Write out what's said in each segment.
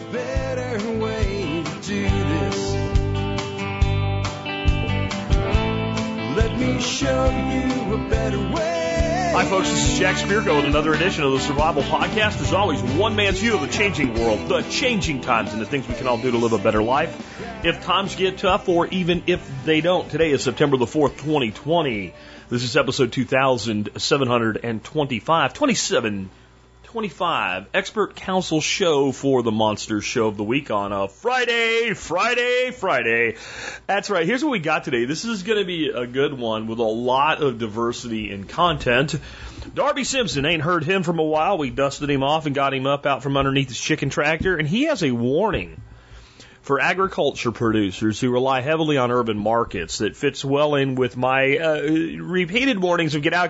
better way to do this. Let me show you a better way. Hi, folks. This is Jack Spirko with another edition of the Survival Podcast. As always, one man's view of the changing world, the changing times, and the things we can all do to live a better life if times get tough or even if they don't. Today is September the 4th, 2020. This is episode 2725, expert counsel show for the Monster Show of the Week on a Friday. That's right. Here's what we got today. This is going to be a good one with a lot of diversity in content. Darby Simpson, ain't heard him from a while. We dusted him off and got him up out from underneath his chicken tractor, and he has a warning for agriculture producers who rely heavily on urban markets that fits well in with my repeated warnings of get out.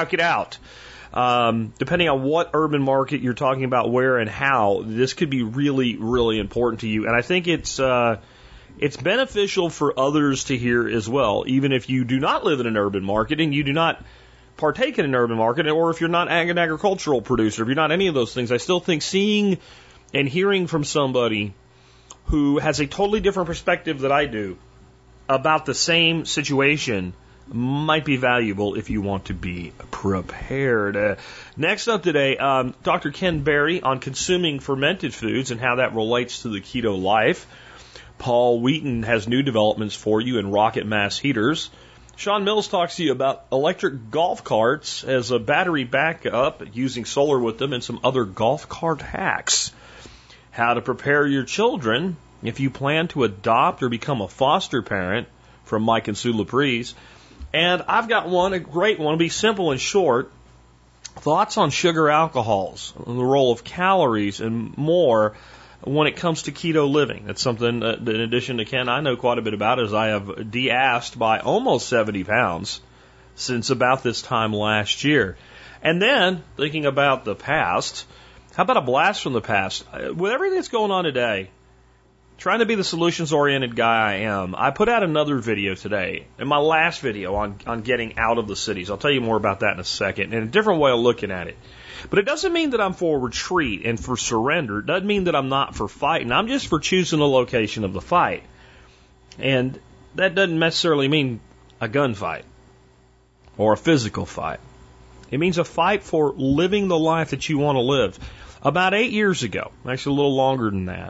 Depending on what urban market you're talking about, where and how, this could be really, really important to you. And I think it's beneficial for others to hear as well, even if you do not live in an urban market and you do not partake in an urban market, or if you're not an agricultural producer, if you're not any of those things. I still think seeing and hearing from somebody who has a totally different perspective than I do about the same situation might be valuable if you want to be prepared. Next up today, Dr. Ken Berry on consuming fermented foods and how that relates to the keto life. Paul Wheaton has new developments for you in rocket mass heaters. Sean Mills talks to you about electric golf carts as a battery backup, using solar with them, and some other golf cart hacks. How to prepare your children if you plan to adopt or become a foster parent, from Mike and Sue Laprise. And I've got one, a great one, it'll be simple and short. Thoughts on sugar alcohols, and the role of calories and more when it comes to keto living. That's something that, in addition to Ken, I know quite a bit about, as I have de-assed by almost 70 pounds since about this time last year. And then, thinking about the past, how about a blast from the past? With everything that's going on today, trying to be the solutions-oriented guy I am, I put out another video today, and my last video on getting out of the cities. I'll tell you more about that in a second, and a different way of looking at it. But it doesn't mean that I'm for retreat and for surrender. It doesn't mean that I'm not for fighting. I'm just for choosing the location of the fight. And that doesn't necessarily mean a gunfight or a physical fight. It means a fight for living the life that you want to live. About 8 years ago, actually a little longer than that,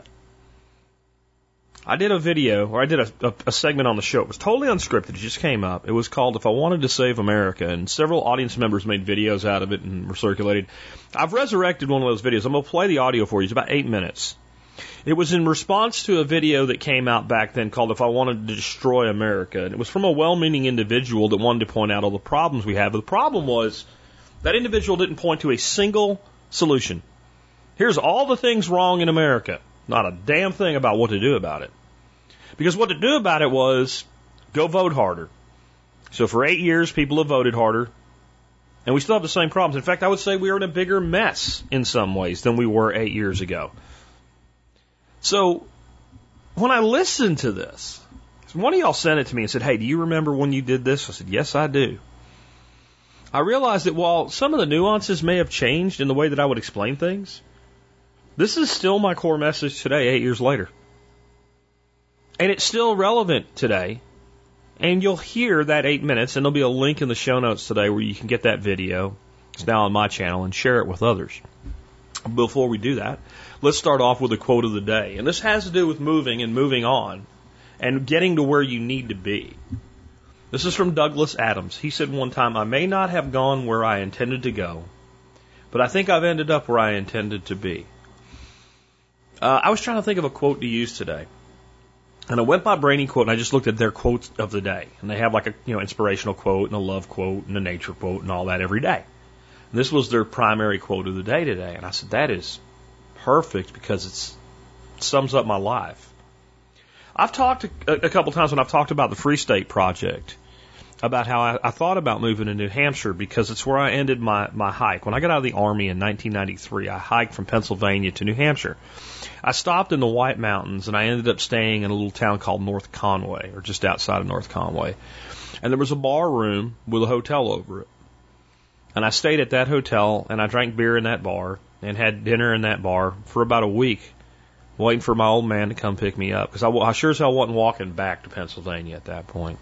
I did a video, or I did a segment on the show. It was totally unscripted. It just came up. It was called If I Wanted to Save America, and several audience members made videos out of it and were circulated. I've resurrected one of those videos. I'm going to play the audio for you. It's about 8 minutes. It was in response to a video that came out back then called If I Wanted to Destroy America, and it was from a well-meaning individual that wanted to point out all the problems we have. But the problem was that individual didn't point to a single solution. Here's all the things wrong in America. Not a damn thing about what to do about it. Because what to do about it was go vote harder. So for 8 years, people have voted harder, and we still have the same problems. In fact, I would say we are in a bigger mess in some ways than we were 8 years ago. So when I listened to this, one of y'all sent it to me and said, "Hey, do you remember when you did this?" I said, "Yes, I do." I realized that while some of the nuances may have changed in the way that I would explain things, this is still my core message today, 8 years later. And it's still relevant today. And you'll hear that 8 minutes, and there'll be a link in the show notes today where you can get that video. It's now on my channel, and share it with others. Before we do that, let's start off with a quote of the day. And this has to do with moving and moving on and getting to where you need to be. This is from Douglas Adams. He said one time, "I may not have gone where I intended to go, but I think I've ended up where I intended to be." I was trying to think of a quote to use today. And I went by Brainy Quote, and I just looked at their quotes of the day. And they have like a inspirational quote and a love quote and a nature quote and all that every day. And this was their primary quote of the day today. And I said, that is perfect because it sums up my life. I've talked a couple times when I've talked about the Free State Project, about how I thought about moving to New Hampshire because it's where I ended my hike. When I got out of the Army in 1993, I hiked from Pennsylvania to New Hampshire. I stopped in the White Mountains, and I ended up staying in a little town called North Conway, or just outside of North Conway. And there was a bar room with a hotel over it. And I stayed at that hotel, and I drank beer in that bar, and had dinner in that bar for about a week waiting for my old man to come pick me up, because I sure as hell wasn't walking back to Pennsylvania at that point.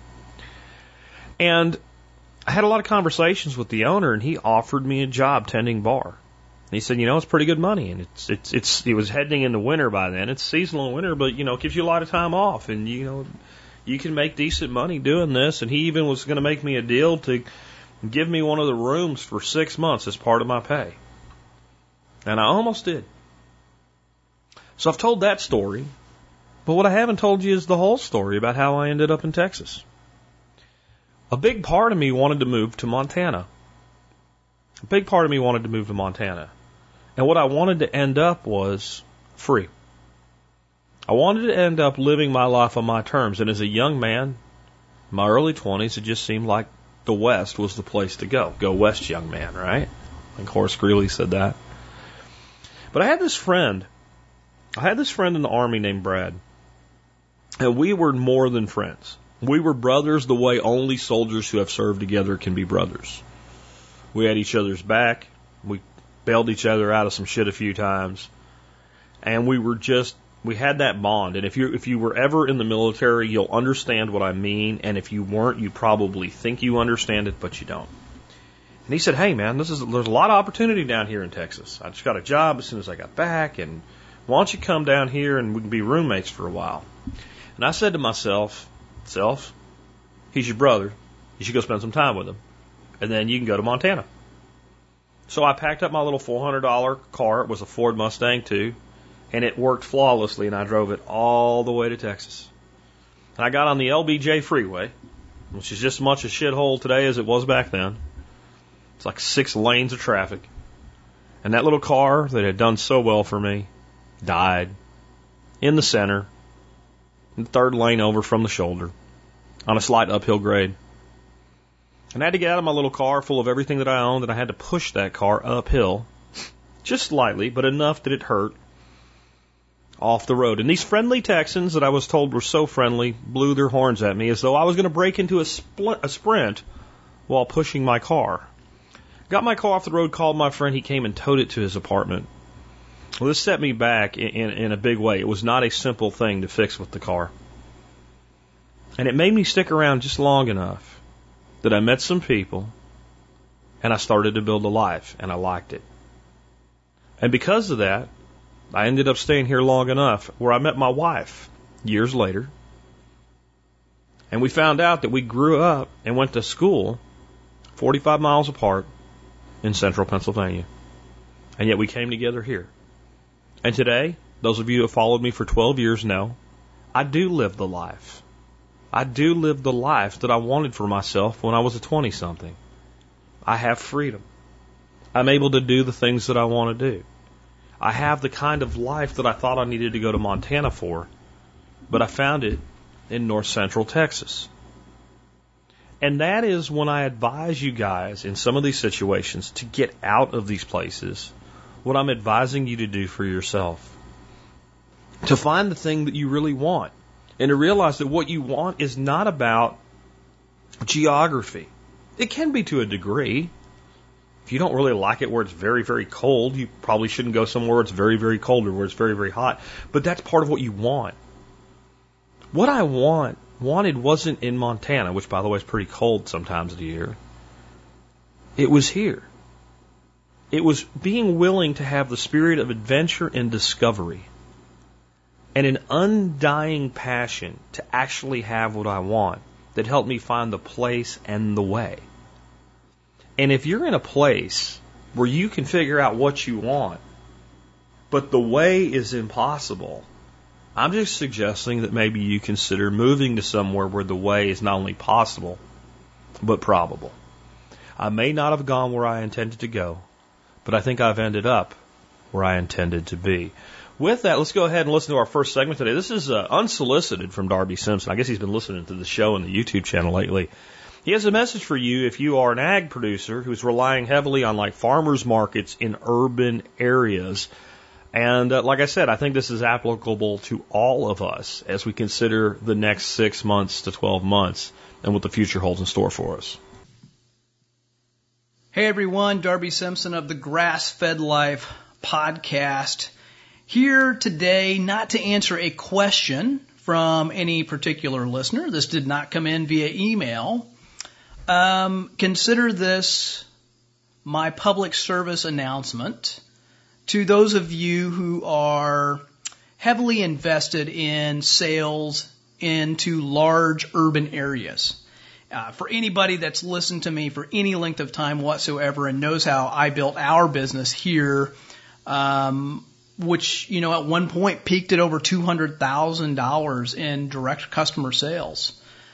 And I had a lot of conversations with the owner, and he offered me a job tending bar. And he said, it's pretty good money, and it was heading into winter by then. It's seasonal winter, but it gives you a lot of time off, and you can make decent money doing this. And he even was going to make me a deal to give me one of the rooms for 6 months as part of my pay. And I almost did. So I've told that story, but what I haven't told you is the whole story about how I ended up in Texas. A big part of me wanted to move to Montana. A big part of me wanted to move to Montana. And what I wanted to end up was free. I wanted to end up living my life on my terms. And as a young man, in my early 20s, it just seemed like the West was the place to go. Go West, young man, right? I think Horace Greeley said that. But I had this friend in the Army named Brad. And we were more than friends. We were brothers the way only soldiers who have served together can be brothers. We had each other's back. We bailed each other out of some shit a few times. And we had that bond. And if you were ever in the military, you'll understand what I mean. And if you weren't, you probably think you understand it, but you don't. And he said, hey man, there's a lot of opportunity down here in Texas. I just got a job as soon as I got back, and why don't you come down here and we can be roommates for a while? And I said to myself, he's your brother. You should go spend some time with him. And then you can go to Montana. So I packed up my little $400 car. It was a Ford Mustang too. And it worked flawlessly, and I drove it all the way to Texas. And I got on the LBJ freeway, which is just as much a shithole today as it was back then. It's like 6 lanes of traffic. And that little car that had done so well for me died in the center, in the 3rd lane over from the shoulder, on a slight uphill grade. And I had to get out of my little car full of everything that I owned, and I had to push that car uphill, just slightly, but enough that it hurt, off the road. And these friendly Texans that I was told were so friendly blew their horns at me as though I was going to break into a sprint while pushing my car. Got my car off the road, called my friend, he came and towed it to his apartment. Well, this set me back in a big way. It was not a simple thing to fix with the car. And it made me stick around just long enough that I met some people and I started to build a life, and I liked it. And because of that, I ended up staying here long enough where I met my wife years later. And we found out that we grew up and went to school 45 miles apart in central Pennsylvania. And yet we came together here. And today, those of you who have followed me for 12 years know, I do live the life. I do live the life that I wanted for myself when I was a 20-something. I have freedom. I'm able to do the things that I want to do. I have the kind of life that I thought I needed to go to Montana for, but I found it in north central Texas. And that is when I advise you guys in some of these situations to get out of these places, what I'm advising you to do for yourself. To find the thing that you really want, and to realize that what you want is not about geography. It can be to a degree. If you don't really like it where it's very, very cold, you probably shouldn't go somewhere where it's very, very cold or where it's very, very hot. But that's part of what you want. What I wanted wasn't in Montana, which, by the way, is pretty cold sometimes of the year. It was here. It was being willing to have the spirit of adventure and discovery and an undying passion to actually have what I want that helped me find the place and the way. And if you're in a place where you can figure out what you want, but the way is impossible, I'm just suggesting that maybe you consider moving to somewhere where the way is not only possible, but probable. I may not have gone where I intended to go, but I think I've ended up where I intended to be. With that, let's go ahead and listen to our first segment today. This is unsolicited from Darby Simpson. I guess he's been listening to the show on the YouTube channel lately. He has a message for you if you are an ag producer who's relying heavily on like farmers markets in urban areas. And like I said, I think this is applicable to all of us as we consider the next 6 months to 12 months and what the future holds in store for us. Hey everyone, Darby Simpson of the Grass Fed Life podcast. Here today not to answer a question from any particular listener. This did not come in via email. Consider this my public service announcement to those of you who are heavily invested in sales into large urban areas. For anybody that's listened to me for any length of time whatsoever and knows how I built our business here, which, at one point peaked at over $200,000 in direct customer sales.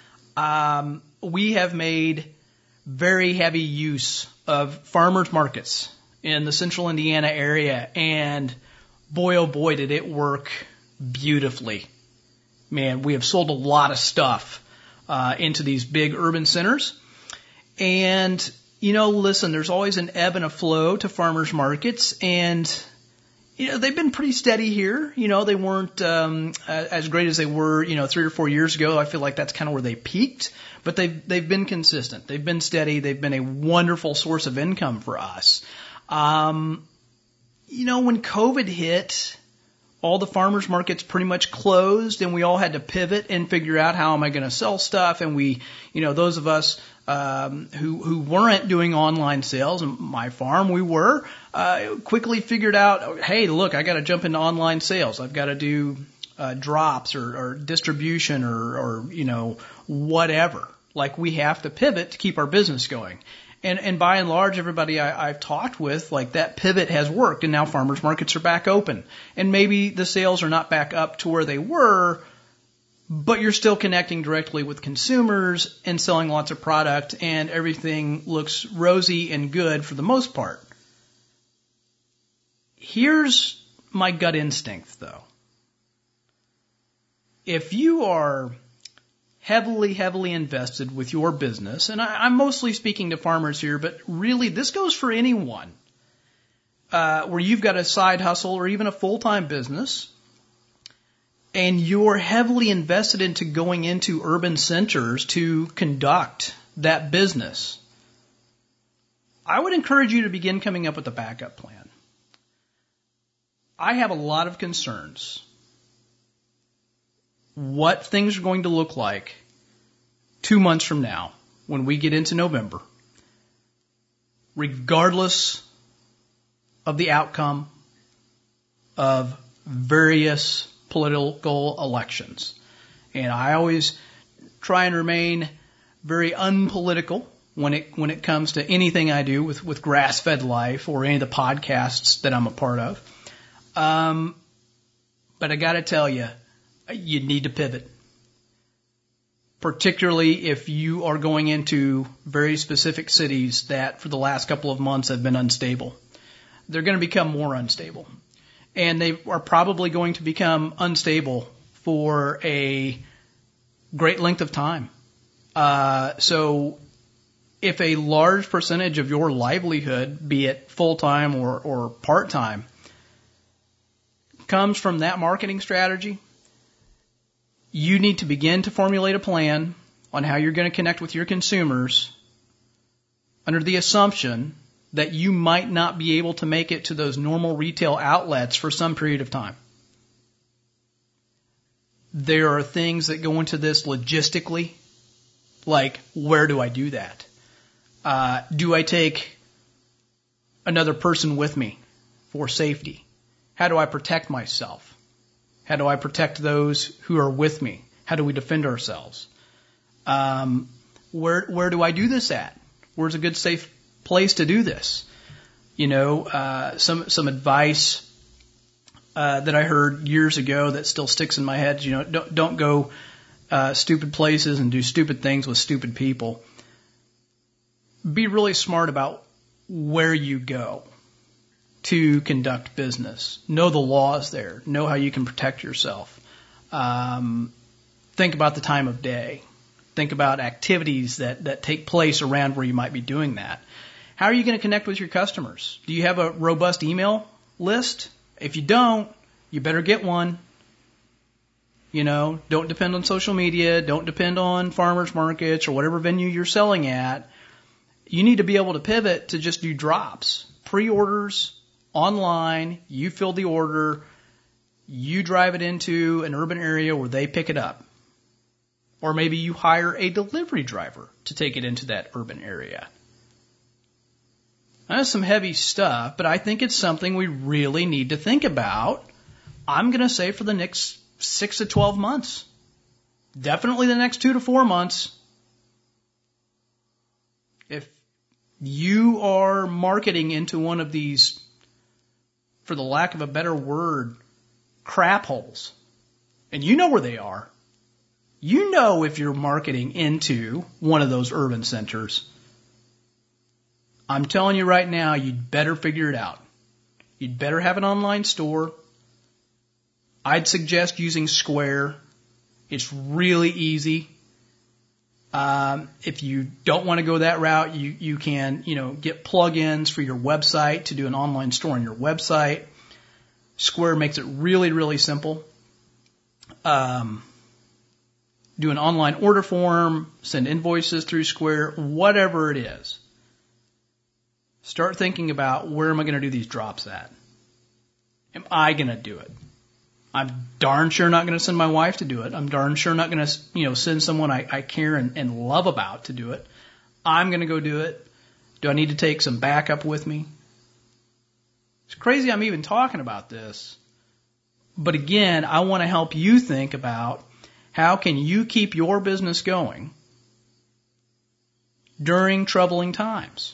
We have made very heavy use of farmers markets in the central Indiana area, and boy, oh boy, did it work beautifully. Man, we have sold a lot of stuff into these big urban centers. And, listen, there's always an ebb and a flow to farmers markets, and they've been pretty steady here. They weren't as great as they were, 3 or 4 years ago. I feel like that's kind of where they peaked. But they've been consistent. They've been steady. They've been a wonderful source of income for us. When COVID hit, all the farmers markets pretty much closed, and we all had to pivot and figure out how am I going to sell stuff. And we, those of us who weren't doing online sales, and my farm we were, quickly figured out, hey, look, I got to jump into online sales. I've got to do drops or distribution or whatever. Like, we have to pivot to keep our business going. And by and large, everybody I've talked with, like, that pivot has worked, and now farmers markets are back open. And maybe the sales are not back up to where they were, but you're still connecting directly with consumers and selling lots of product, and everything looks rosy and good for the most part. Here's my gut instinct, though. If you are heavily invested with your business, and I'm mostly speaking to farmers here, but really this goes for anyone, where you've got a side hustle or even a full-time business, and you're heavily invested into going into urban centers to conduct that business, I would encourage you to begin coming up with a backup plan. I have a lot of concerns what things are going to look like 2 months from now when we get into November, regardless of the outcome of various political elections. And I always try and remain very unpolitical when it comes to anything I do with Grass-Fed Life or any of the podcasts that I'm a part of. But I got to tell you, you need to pivot, particularly if you are going into very specific cities that for the last couple of months have been unstable. They're going to become more unstable, and they are probably going to become unstable for a great length of time. So if a large percentage of your livelihood, be it full-time or part-time, comes from that marketing strategy, you need to begin to formulate a plan on how you're going to connect with your consumers under the assumption that you might not be able to make it to those normal retail outlets for some period of time. There are things that go into this logistically, like, where do I do that? Do I take another person with me for safety? How do I protect myself? How do I protect those who are with me? How do we defend ourselves? Where do I do this at? Where's a good, safe place to do this? Some advice that I heard years ago that still sticks in my head. Don't go stupid places and do stupid things with stupid people. Be really smart about where you go to conduct business. Know the laws there. Know how you can protect yourself. Think about the time of day. Think about activities that take place around where you might be doing that. How are you going to connect with your customers? Do you have a robust email list? If you don't, you better get one. Don't depend on social media. Don't depend on farmers markets or whatever venue you're selling at. You need to be able to pivot to just do drops, pre-orders, online. You fill the order. You drive it into an urban area where they pick it up. Or maybe you hire a delivery driver to take it into that urban area. That's some heavy stuff, but I think it's something we really need to think about. I'm going to say for the next 6 to 12 months. Definitely the next 2 to 4 months. If you are marketing into one of these, for the lack of a better word, crap holes, and you know where they are, you know if you're marketing into one of those urban centers, I'm telling you right now, you'd better figure it out. You'd better have an online store. I'd suggest using Square. It's really easy. If you don't want to go that route, you can, get plugins for your website to do an online store on your website. Square makes it really, really simple. Do an online order form, send invoices through Square, whatever it is. Start thinking about, where am I going to do these drops at? Am I going to do it? I'm darn sure not going to send my wife to do it. I'm darn sure not going to, send someone I care and love about to do it. I'm going to go do it. Do I need to take some backup with me? It's crazy I'm even talking about this. But again, I want to help you think about, how can you keep your business going during troubling times?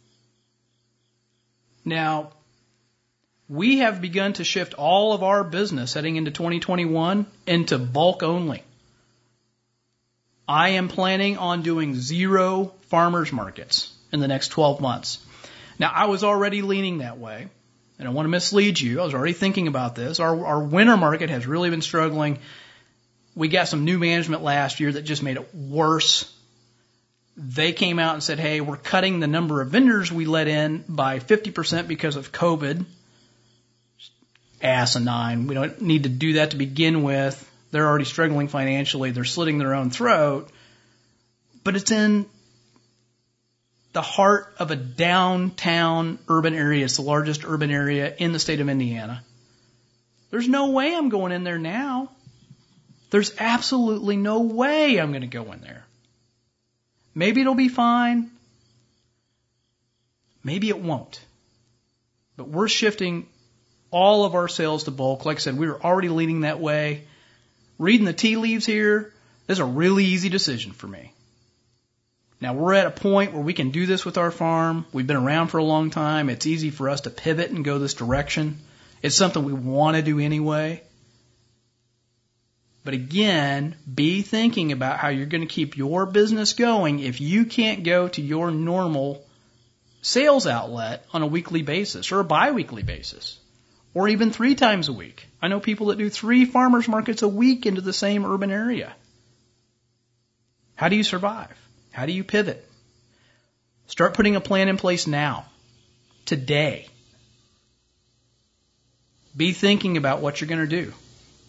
Now, we have begun to shift all of our business heading into 2021 into bulk only. I am planning on doing 0 farmers markets in the next 12 months. Now, I was already leaning that way, and I want to mislead you. I was already thinking about this. Our winter market has really been struggling. We got some new management last year that just made it worse. They came out and said, hey, we're cutting the number of vendors we let in by 50% because of COVID. Asinine. We don't need to do that to begin with. They're already struggling financially. They're slitting their own throat. But it's in the heart of a downtown urban area. It's the largest urban area in the state of Indiana. There's no way I'm going in there now. There's absolutely no way I'm going to go in there. Maybe it'll be fine. Maybe it won't. But we're shifting all of our sales to bulk. Like I said, we were already leaning that way. Reading the tea leaves here, this is a really easy decision for me. Now, we're at a point where we can do this with our farm. We've been around for a long time. It's easy for us to pivot and go this direction. It's something we want to do anyway. But again, be thinking about how you're going to keep your business going if you can't go to your normal sales outlet on a weekly basis or a biweekly basis or even 3 times a week. I know people that do 3 farmers markets a week into the same urban area. How do you survive? How do you pivot? Start putting a plan in place now, today. Be thinking about what you're going to do.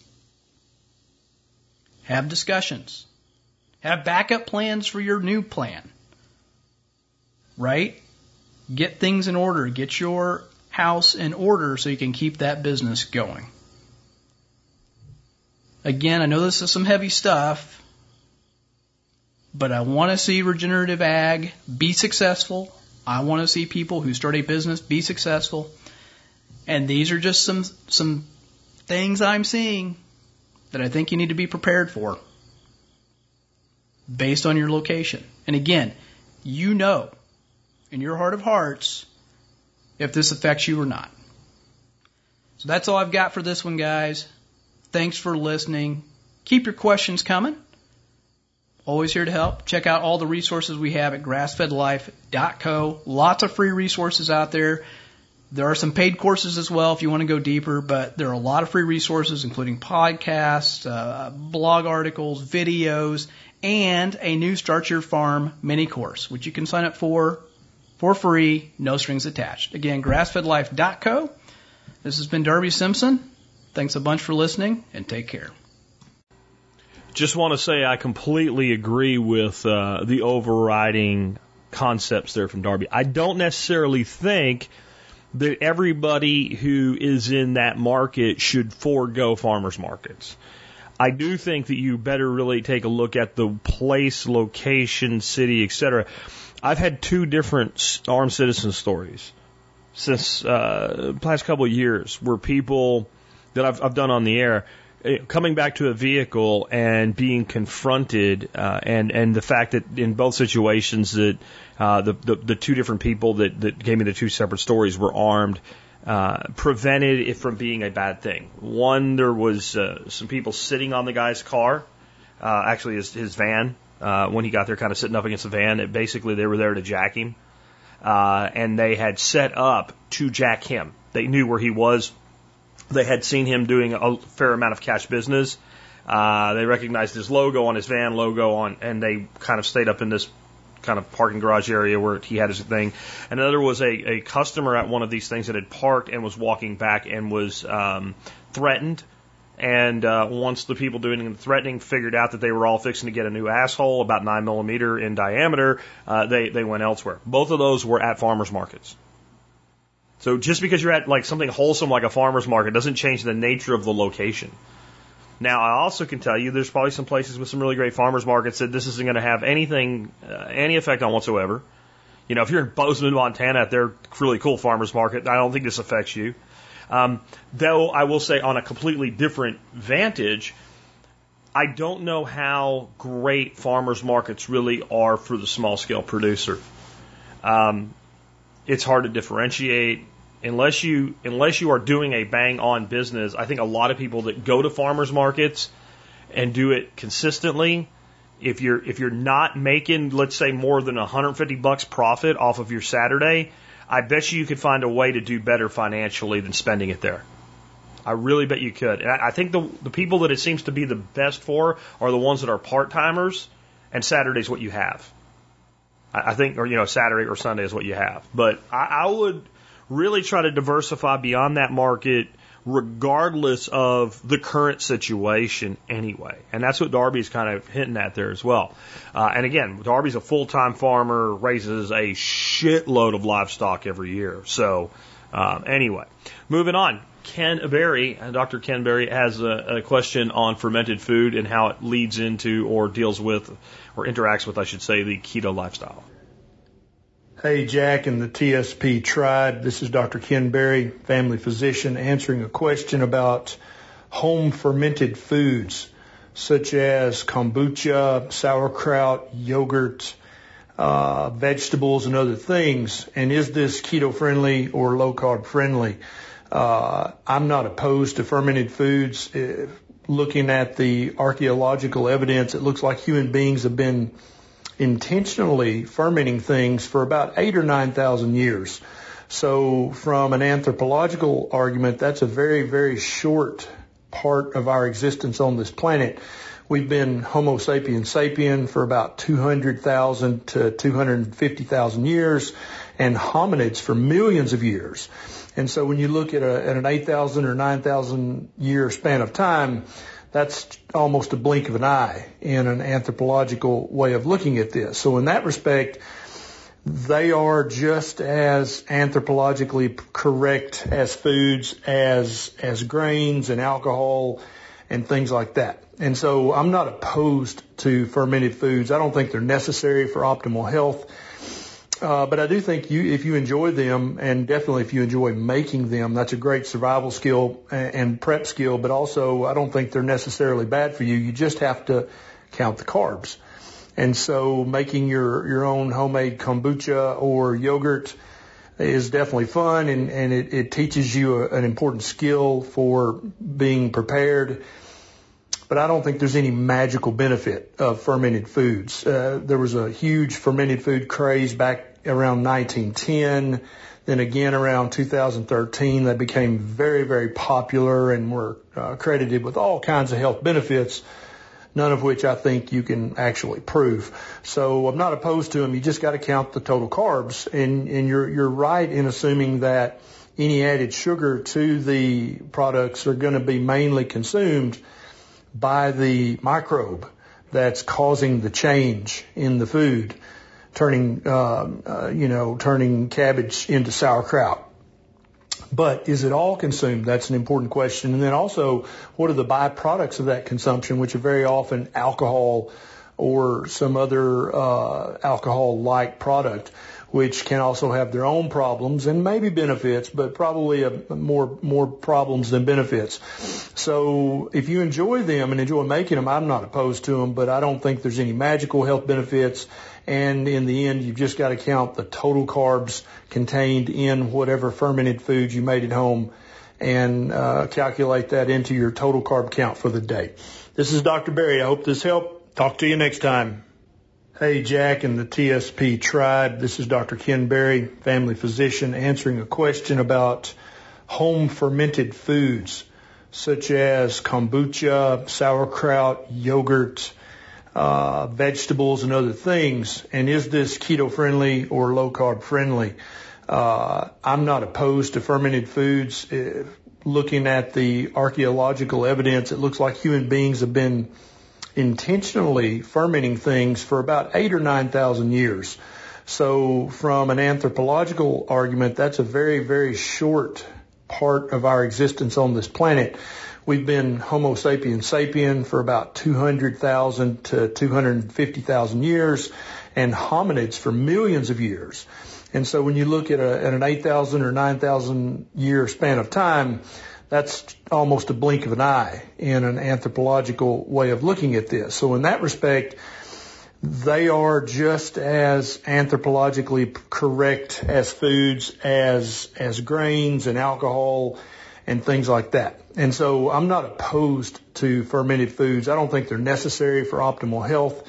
Have discussions. Have backup plans for your new plan. Right? Get things in order. Get your house in order so you can keep that business going. Again, I know this is some heavy stuff, but I want to see regenerative ag be successful. I want to see people who start a business be successful. And these are just some things I'm seeing that I think you need to be prepared for based on your location. And again, you know in your heart of hearts if this affects you or not. So that's all I've got for this one, guys. Thanks for listening. Keep your questions coming. Always here to help. Check out all the resources we have at grassfedlife.co. Lots of free resources out there. There are some paid courses as well if you want to go deeper, but there are a lot of free resources, including podcasts, blog articles, videos, and a new Start Your Farm mini course, which you can sign up for free, no strings attached. Again, grassfedlife.co. This has been Darby Simpson. Thanks a bunch for listening, and take care. Just want to say I completely agree with the overriding concepts there from Darby. I don't necessarily think that everybody who is in that market should forego farmers markets. I do think that you better really take a look at the place, location, city, etc. I've had 2 different armed citizen stories since the past couple of years where people that I've done on the air coming back to a vehicle and being confronted, and the fact that in both situations that the 2 different people that gave me the 2 separate stories were armed, prevented it from being a bad thing. One, there was some people sitting on the guy's car, actually his van, when he got there, kind of sitting up against the van. Basically, they were there to jack him, and they had set up to jack him. They knew where he was. They had seen him doing a fair amount of cash business. They recognized his logo on his van, and they kind of stayed up in this kind of parking garage area where he had his thing. And another was a customer at one of these things that had parked and was walking back and was threatened. And once the people doing the threatening figured out that they were all fixing to get a new asshole about 9 millimeter in diameter, they went elsewhere. Both of those were at farmers markets. So just because you're at like something wholesome like a farmer's market doesn't change the nature of the location. Now, I also can tell you there's probably some places with some really great farmers markets that this isn't going to have any effect on whatsoever. You know, if you're in Bozeman, Montana at their really cool farmer's market, I don't think this affects you. Though I will say on a completely different vantage, I don't know how great farmers markets really are for the small scale producer. It's hard to differentiate. Unless you are doing a bang on business, I think a lot of people that go to farmers markets and do it consistently, if you're not making, let's say, more than $150 profit off of your Saturday, I bet you could find a way to do better financially than spending it there. I really bet you could. And I think the people that it seems to be the best for are the ones that are part-timers, and Saturday's what you have. I think, or Saturday or Sunday is what you have. But I would really try to diversify beyond that market regardless of the current situation anyway. And that's what Darby's kind of hinting at there as well. And again, Darby's a full-time farmer, raises a shitload of livestock every year. So anyway, moving on. Dr. Ken Berry has a question on fermented food and how it leads into or deals with or interacts with, I should say, the keto lifestyle. Hey, Jack and the TSP tribe. This is Dr. Ken Berry, family physician, answering a question about home fermented foods such as kombucha, sauerkraut, yogurt, vegetables, and other things. And is this keto friendly or low carb friendly? I'm not opposed to fermented foods. Looking at the archaeological evidence, it looks like human beings have been intentionally fermenting things for about 8,000 or 9,000 years. So from an anthropological argument, that's a very, very short part of our existence on this planet. We've been Homo sapiens sapien for about 200,000 to 250,000 years, and hominids for millions of years. And so when you look at an 8,000 or 9,000 year span of time, that's almost a blink of an eye in an anthropological way of looking at this. So in that respect, they are just as anthropologically correct as foods, as grains and alcohol and things like that. And so I'm not opposed to fermented foods. I don't think they're necessary for optimal health. But I do think if you enjoy them, and definitely if you enjoy making them, that's a great survival skill and prep skill, but also I don't think they're necessarily bad for you. You just have to count the carbs. And so making your own homemade kombucha or yogurt is definitely fun, and it teaches you an important skill for being prepared. But I don't think there's any magical benefit of fermented foods. There was a huge fermented food craze back around 1910. Then again around 2013, they became very, very popular and were credited with all kinds of health benefits, none of which I think you can actually prove. So I'm not opposed to them. You just got to count the total carbs. And you're right in assuming that any added sugar to the products are going to be mainly consumed by the microbe that's causing the change in the food, turning cabbage into sauerkraut But is it all consumed? That's an important question. And then also, what are the byproducts of that consumption, which are very often alcohol or some other alcohol-like product, which can also have their own problems and maybe benefits, but probably more problems than benefits. So if you enjoy them and enjoy making them, I'm not opposed to them, but I don't think there's any magical health benefits. And in the end, you've just got to count the total carbs contained in whatever fermented foods you made at home and calculate that into your total carb count for the day. This is Dr. Berry. I hope this helped. Talk to you next time. Hey, Jack and the TSP tribe. This is Dr. Ken Berry, family physician, answering a question about home fermented foods such as kombucha, sauerkraut, yogurt, vegetables, and other things. And is this keto friendly or low carb friendly? I'm not opposed to fermented foods. Looking at the archaeological evidence, it looks like human beings have been intentionally fermenting things for about 8,000 or 9,000 years. So from an anthropological argument, that's a very, very short part of our existence on this planet. We've been Homo sapiens sapien for about 200,000 to 250,000 years and hominids for millions of years. And so when you look at an 8,000 or 9,000 year span of time, that's almost a blink of an eye in an anthropological way of looking at this. So in that respect, they are just as anthropologically correct as foods, as grains and alcohol and things like that. And so I'm not opposed to fermented foods. I don't think they're necessary for optimal health.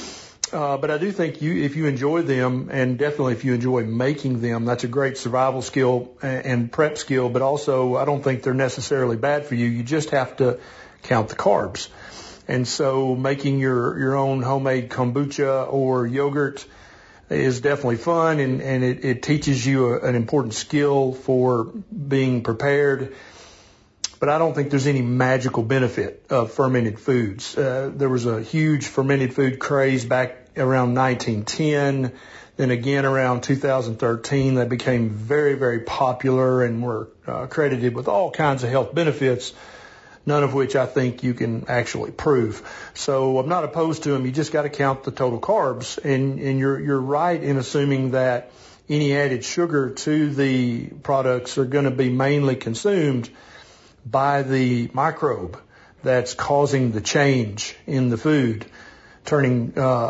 But I do think if you enjoy them, and definitely if you enjoy making them, that's a great survival skill and prep skill, but also I don't think they're necessarily bad for you. You just have to count the carbs. And so making your own homemade kombucha or yogurt is definitely fun, and it teaches you an important skill for being prepared. But I don't think there's any magical benefit of fermented foods. There was a huge fermented food craze back around 1910. Then again around 2013, they became very, very popular and were credited with all kinds of health benefits, none of which I think you can actually prove. So I'm not opposed to them. You just got to count the total carbs. And you're right in assuming that any added sugar to the products are going to be mainly consumed by the microbe that's causing the change in the food, turning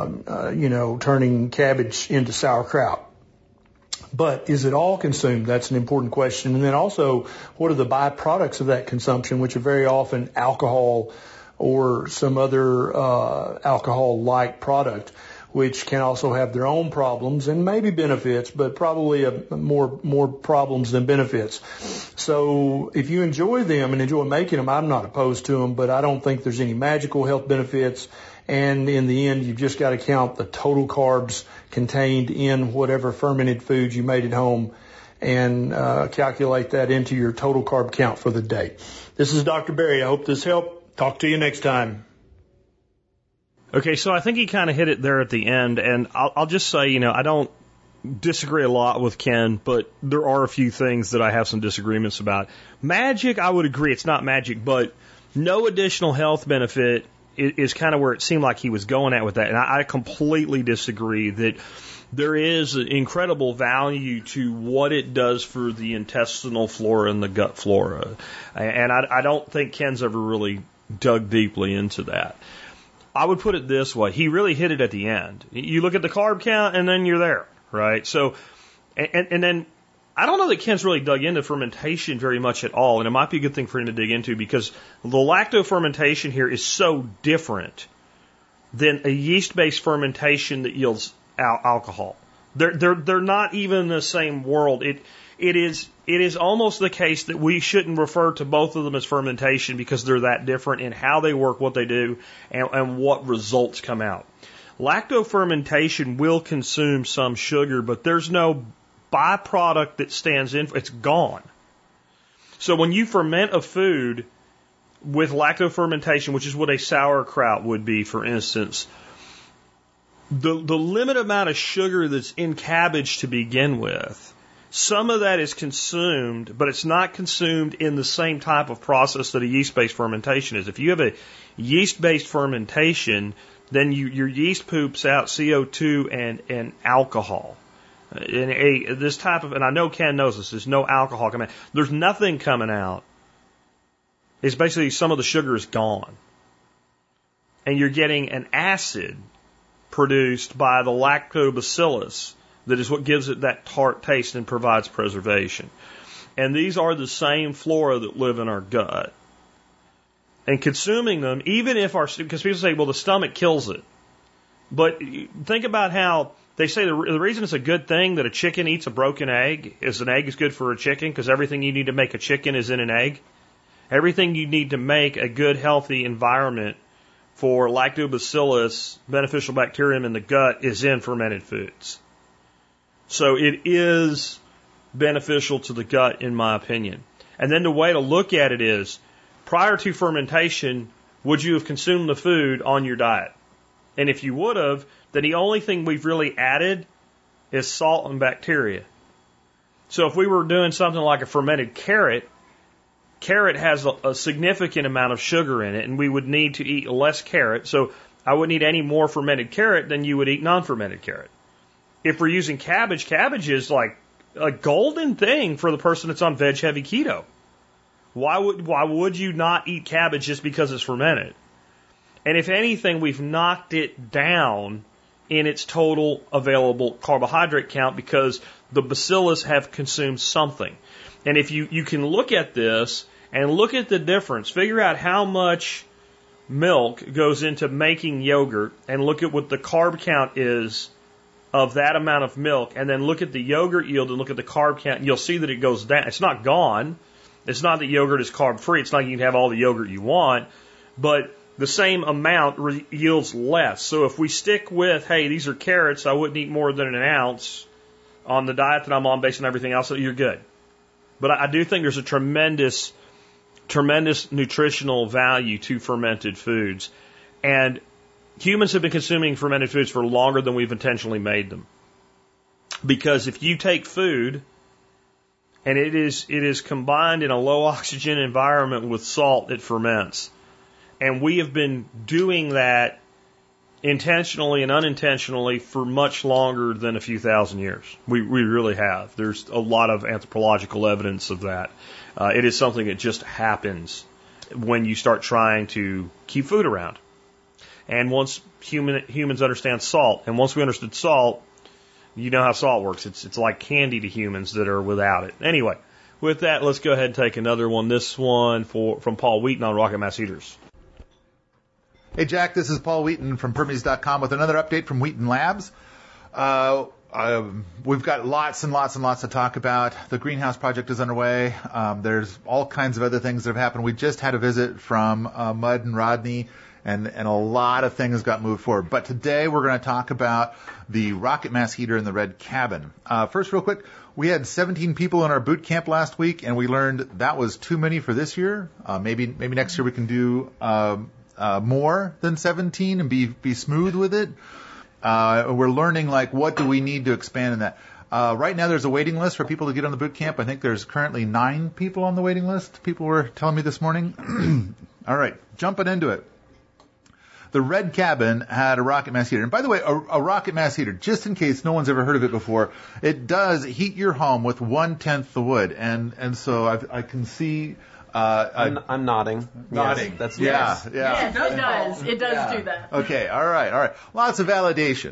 cabbage into sauerkraut. But is it all consumed? That's an important question. And then also, what are the byproducts of that consumption, which are very often alcohol or some other alcohol-like product, which can also have their own problems and maybe benefits, but probably more problems than benefits. So if you enjoy them and enjoy making them, I'm not opposed to them, but I don't think there's any magical health benefits. And in the end, you've just got to count the total carbs contained in whatever fermented foods you made at home and calculate that into your total carb count for the day. This is Dr. Berry. I hope this helped. Talk to you next time. Okay, so I think he kind of hit it there at the end, and I'll just say, I don't disagree a lot with Ken, but there are a few things that I have some disagreements about. Magic, I would agree, it's not magic, but no additional health benefit is kind of where it seemed like he was going at with that, and I completely disagree that there is incredible value to what it does for the intestinal flora and the gut flora, and I don't think Ken's ever really dug deeply into that. I would put it this way. He really hit it at the end. You look at the carb count and then you're there, right? So, and then I don't know that Ken's really dug into fermentation very much at all. And it might be a good thing for him to dig into because the lactofermentation here is so different than a yeast-based fermentation that yields alcohol. They're not even in the same world. It is almost the case that we shouldn't refer to both of them as fermentation because they're that different in how they work, what they do, and what results come out. Lactofermentation will consume some sugar, but there's no byproduct that stands in. It's gone. So when you ferment a food with lactofermentation, which is what a sauerkraut would be, for instance, the limited amount of sugar that's in cabbage to begin with Some of that is consumed, but it's not consumed in the same type of process that a yeast-based fermentation is. If you have a yeast-based fermentation, then your yeast poops out CO2 and alcohol. This type of, and I know Ken knows this, there's no alcohol coming out. There's nothing coming out. It's basically some of the sugar is gone. And you're getting an acid produced by the lactobacillus that is what gives it that tart taste and provides preservation. And these are the same flora that live in our gut. And consuming them, even if because people say, well, the stomach kills it. But think about how they say the reason it's a good thing that a chicken eats a broken egg is an egg is good for a chicken because everything you need to make a chicken is in an egg. Everything you need to make a good, healthy environment for lactobacillus, beneficial bacterium in the gut, is in fermented foods. So it is beneficial to the gut, in my opinion. And then the way to look at it is, prior to fermentation, would you have consumed the food on your diet? And if you would have, then the only thing we've really added is salt and bacteria. So if we were doing something like a fermented carrot has a significant amount of sugar in it, and we would need to eat less carrot. So I wouldn't eat any more fermented carrot than you would eat non-fermented carrot. If we're using cabbage is like a golden thing for the person that's on veg-heavy keto. Why would you not eat cabbage just because it's fermented? And if anything, we've knocked it down in its total available carbohydrate count because the bacillus have consumed something. And if you can look at this and look at the difference, figure out how much milk goes into making yogurt and look at what the carb count is of that amount of milk, and then look at the yogurt yield and look at the carb count, and you'll see that it goes down. It's not gone. It's not that yogurt is carb free. It's not like you can have all the yogurt you want, but the same amount yields less. So if we stick with, hey, these are carrots, I wouldn't eat more than an ounce on the diet that I'm on based on everything else, you're good. But I do think there's a tremendous nutritional value to fermented foods. And humans have been consuming fermented foods for longer than we've intentionally made them. Because if you take food and it is combined in a low oxygen environment with salt, it ferments. And we have been doing that intentionally and unintentionally for much longer than a few thousand years. We really have. There's a lot of anthropological evidence of that. It is something that just happens when you start trying to keep food around. And once humans understand salt, and once we understood salt, you know how salt works. It's like candy to humans that are without it. Anyway, with that, let's go ahead and take another one. This one from Paul Wheaton on Rocket Mass Heaters. Hey, Jack, this is Paul Wheaton from Permies.com with another update from Wheaton Labs. We've got lots and lots and lots to talk about. The greenhouse project is underway. There's all kinds of other things that have happened. We just had a visit from Mud and Rodney, and a lot of things got moved forward. But today we're going to talk about the rocket mass heater in the red cabin. First, real quick, we had 17 people in our boot camp last week, and we learned that was too many for this year. Maybe next year we can do more than 17 and be smooth with it. We're learning, like, what do we need to expand in that. Right now there's a waiting list for people to get on the boot camp. I think there's currently 9 people on the waiting list. People were telling me this morning. All right, jumping into it. The red cabin had a rocket mass heater. And by the way, a rocket mass heater, just in case no one's ever heard of it before, it does heat your home with 1/10 the wood. And so I can see... I'm nodding. Nodding. Yes, that's yes. Yes, it does. It does do that. Okay, all right. Lots of validation.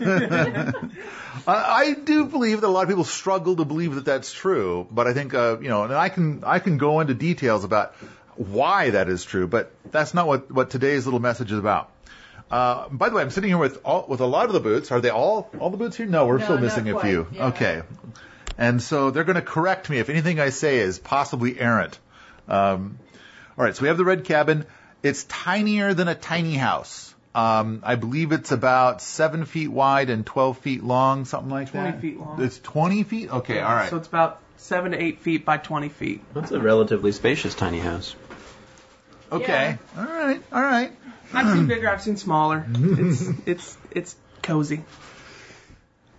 I do believe that a lot of people struggle to believe that that's true, but I think, and I can go into details about why that is true, but that's not what today's little message is about. By the way, I'm sitting here with a lot of the boots. Are they all the boots here? No, we're still missing a few. Yeah. Okay. And so they're going to correct me if anything I say is possibly errant. All right, so we have the red cabin. It's tinier than a tiny house. I believe it's about 7 feet wide and 12 feet long, something like 20 that. 20 feet long. It's 20 feet? Okay, all right. So it's about 7 to 8 feet by 20 feet. That's a relatively spacious tiny house. Okay, yeah. All right. I've seen bigger, I've seen smaller. It's cozy.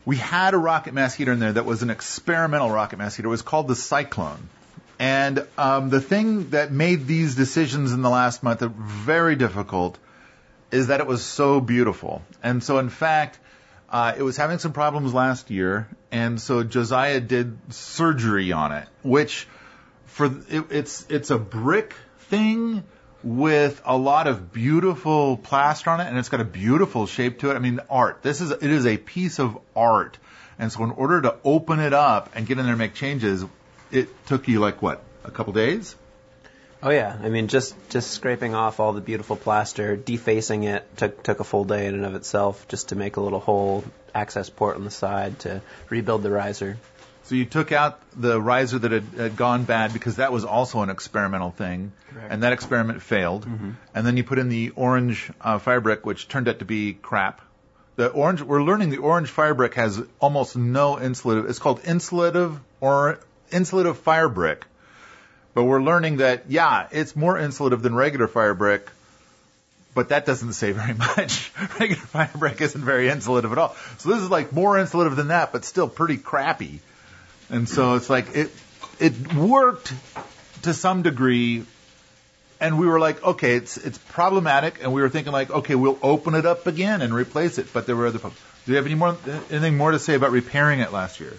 we had a rocket mass heater in there that was an experimental rocket mass heater. It was called the Cyclone. And the thing that made these decisions in the last month very difficult is that it was so beautiful. And so, in fact, it was having some problems last year, and so Josiah did surgery on it, which it's a brick thing with a lot of beautiful plaster on it, and it's got a beautiful shape to it. I mean, art. It is a piece of art. And so in order to open it up and get in there and make changes, it took you like what, a couple days? Oh yeah, I mean just scraping off all the beautiful plaster, defacing it took a full day in and of itself, just to make a little hole access port on the side to rebuild the riser. So you took out the riser that had gone bad because that was also an experimental thing. Correct. And that experiment failed. Mm-hmm. And then you put in the orange fire brick, which turned out to be crap. We're learning the orange fire brick has almost no insulative. It's called insulative fire brick. But we're learning that, yeah, it's more insulative than regular fire brick, but that doesn't say very much. Regular fire brick isn't very insulative at all. So this is like more insulative than that, but still pretty crappy. And so it's like it worked to some degree, and we were like, okay, it's problematic, and we were thinking like, okay, we'll open it up again and replace it. But there were other problems. Do you have anything more to say about repairing it last year?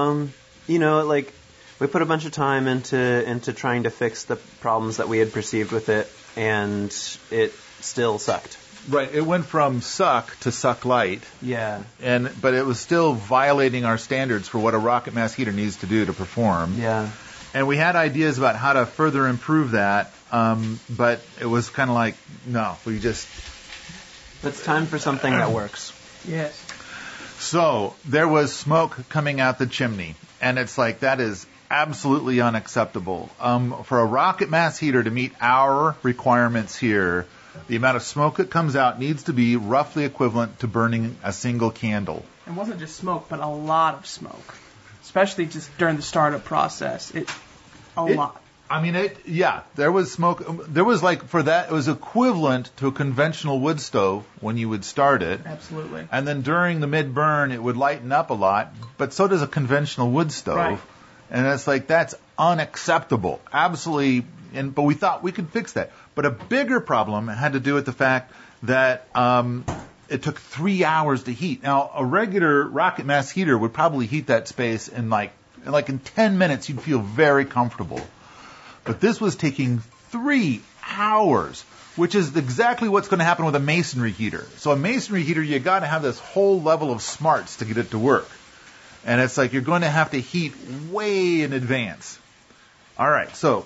We put a bunch of time into trying to fix the problems that we had perceived with it, and it still sucked. Right. It went from suck to suck light. Yeah. But it was still violating our standards for what a rocket mass heater needs to do to perform. Yeah. And we had ideas about how to further improve that, but it was kind of like, no, it's time for something that works. Yes. So there was smoke coming out the chimney, and it's like, that is absolutely unacceptable. For a rocket mass heater to meet our requirements here, the amount of smoke that comes out needs to be roughly equivalent to burning a single candle. It wasn't just smoke, but a lot of smoke, especially just during the startup process. A lot. I mean, there was smoke. There was for that, it was equivalent to a conventional wood stove when you would start it. Absolutely. And then during the mid-burn, it would lighten up a lot, but so does a conventional wood stove. Right. And it's like, that's unacceptable. Absolutely. But we thought we could fix that. But a bigger problem had to do with the fact that it took 3 hours to heat. Now, a regular rocket mass heater would probably heat that space in in 10 minutes, you'd feel very comfortable. But this was taking 3 hours, which is exactly what's going to happen with a masonry heater. So a masonry heater, you got to have this whole level of smarts to get it to work. And it's like you're going to have to heat way in advance. All right, so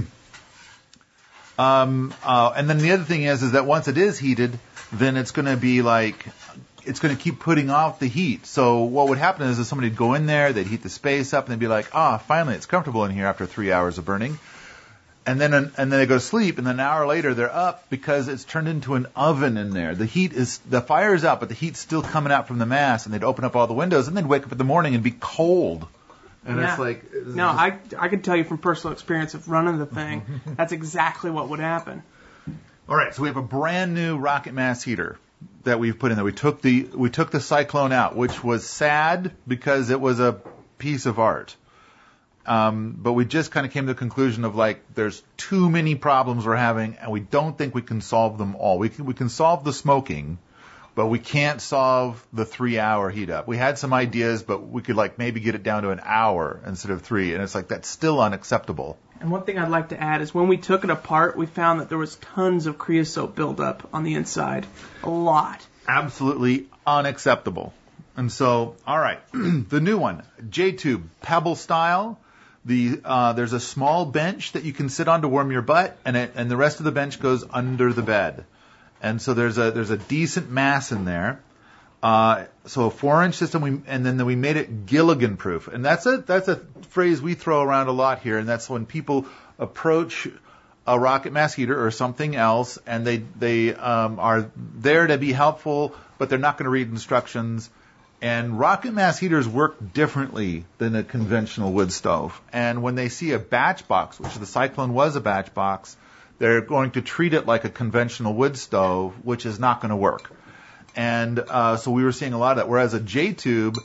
and then the other thing is that once it is heated, then it's going to be it's going to keep putting off the heat. So what would happen is somebody would go in there, they'd heat the space up, and they'd be like, finally it's comfortable in here after 3 hours of burning. And then they go to sleep, and then an hour later they're up because it's turned into an oven in there. The fire is out, but the heat's still coming out from the mass, and they'd open up all the windows, and they'd wake up in the morning and be cold. And yeah. It's like... I could tell you from personal experience of running the thing, that's exactly what would happen. All right, so we have a brand new rocket mass heater that we've put in there. We took the Cyclone out, which was sad because it was a piece of art. But we just kind of came to the conclusion of there's too many problems we're having, and we don't think we can solve them all. We can solve the smoking, but we can't solve the 3 hour heat up. We had some ideas, but we could maybe get it down to an hour instead of 3, and it's that's still unacceptable. And one thing I'd like to add is when we took it apart, we found that there was tons of creosote buildup on the inside. A lot. Absolutely unacceptable. And so, all right, the new one, J-tube, pebble style. There's a small bench that you can sit on to warm your butt, and the rest of the bench goes under the bed. And so there's a decent mass in there. So a 4-inch system, and then we made it Gilligan proof. And that's a phrase we throw around a lot here, and that's when people approach a rocket mass heater or something else, and they are there to be helpful, but they're not going to read instructions. And rocket mass heaters work differently than a conventional wood stove. And when they see a batch box, which the Cyclone was a batch box, they're going to treat it like a conventional wood stove, which is not going to work. And so we were seeing a lot of that. Whereas a J-tube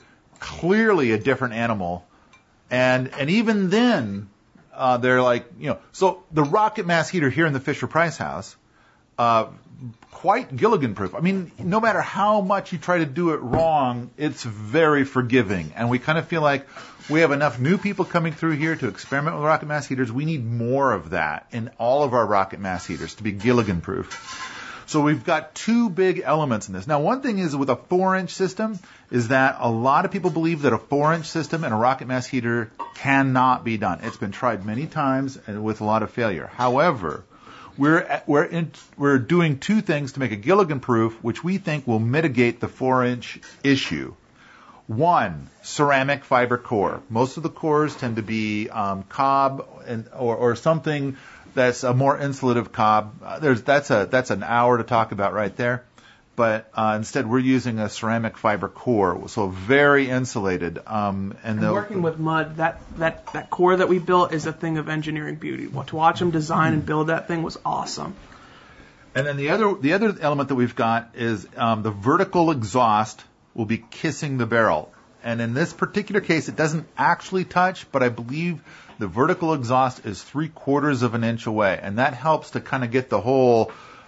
clearly a different animal. And even then, they're like, so the rocket mass heater here in the Fisher-Price house, quite Gilligan-proof. I mean, no matter how much you try to do it wrong, it's very forgiving. And we kind of feel like we have enough new people coming through here to experiment with rocket mass heaters. We need more of that in all of our rocket mass heaters to be Gilligan-proof. So we've got two big elements in this. Now, one thing is with a 4-inch system is that a lot of people believe that a 4-inch system and a rocket mass heater cannot be done. It's been tried many times and with a lot of failure. However, we're doing two things to make it Gilligan-proof, which we think will mitigate the 4-inch issue. One, ceramic fiber core. Most of the cores tend to be cob or something that's a more insulative cob. That's an hour to talk about right there. But instead, we're using a ceramic fiber core, so very insulated. And working with mud, that core that we built is a thing of engineering beauty. To watch them design and build that thing was awesome. And then the other element that we've got is the vertical exhaust will be kissing the barrel. And in this particular case, it doesn't actually touch, but I believe the vertical exhaust is 3/4 of an inch away, and that helps to kind of get the whole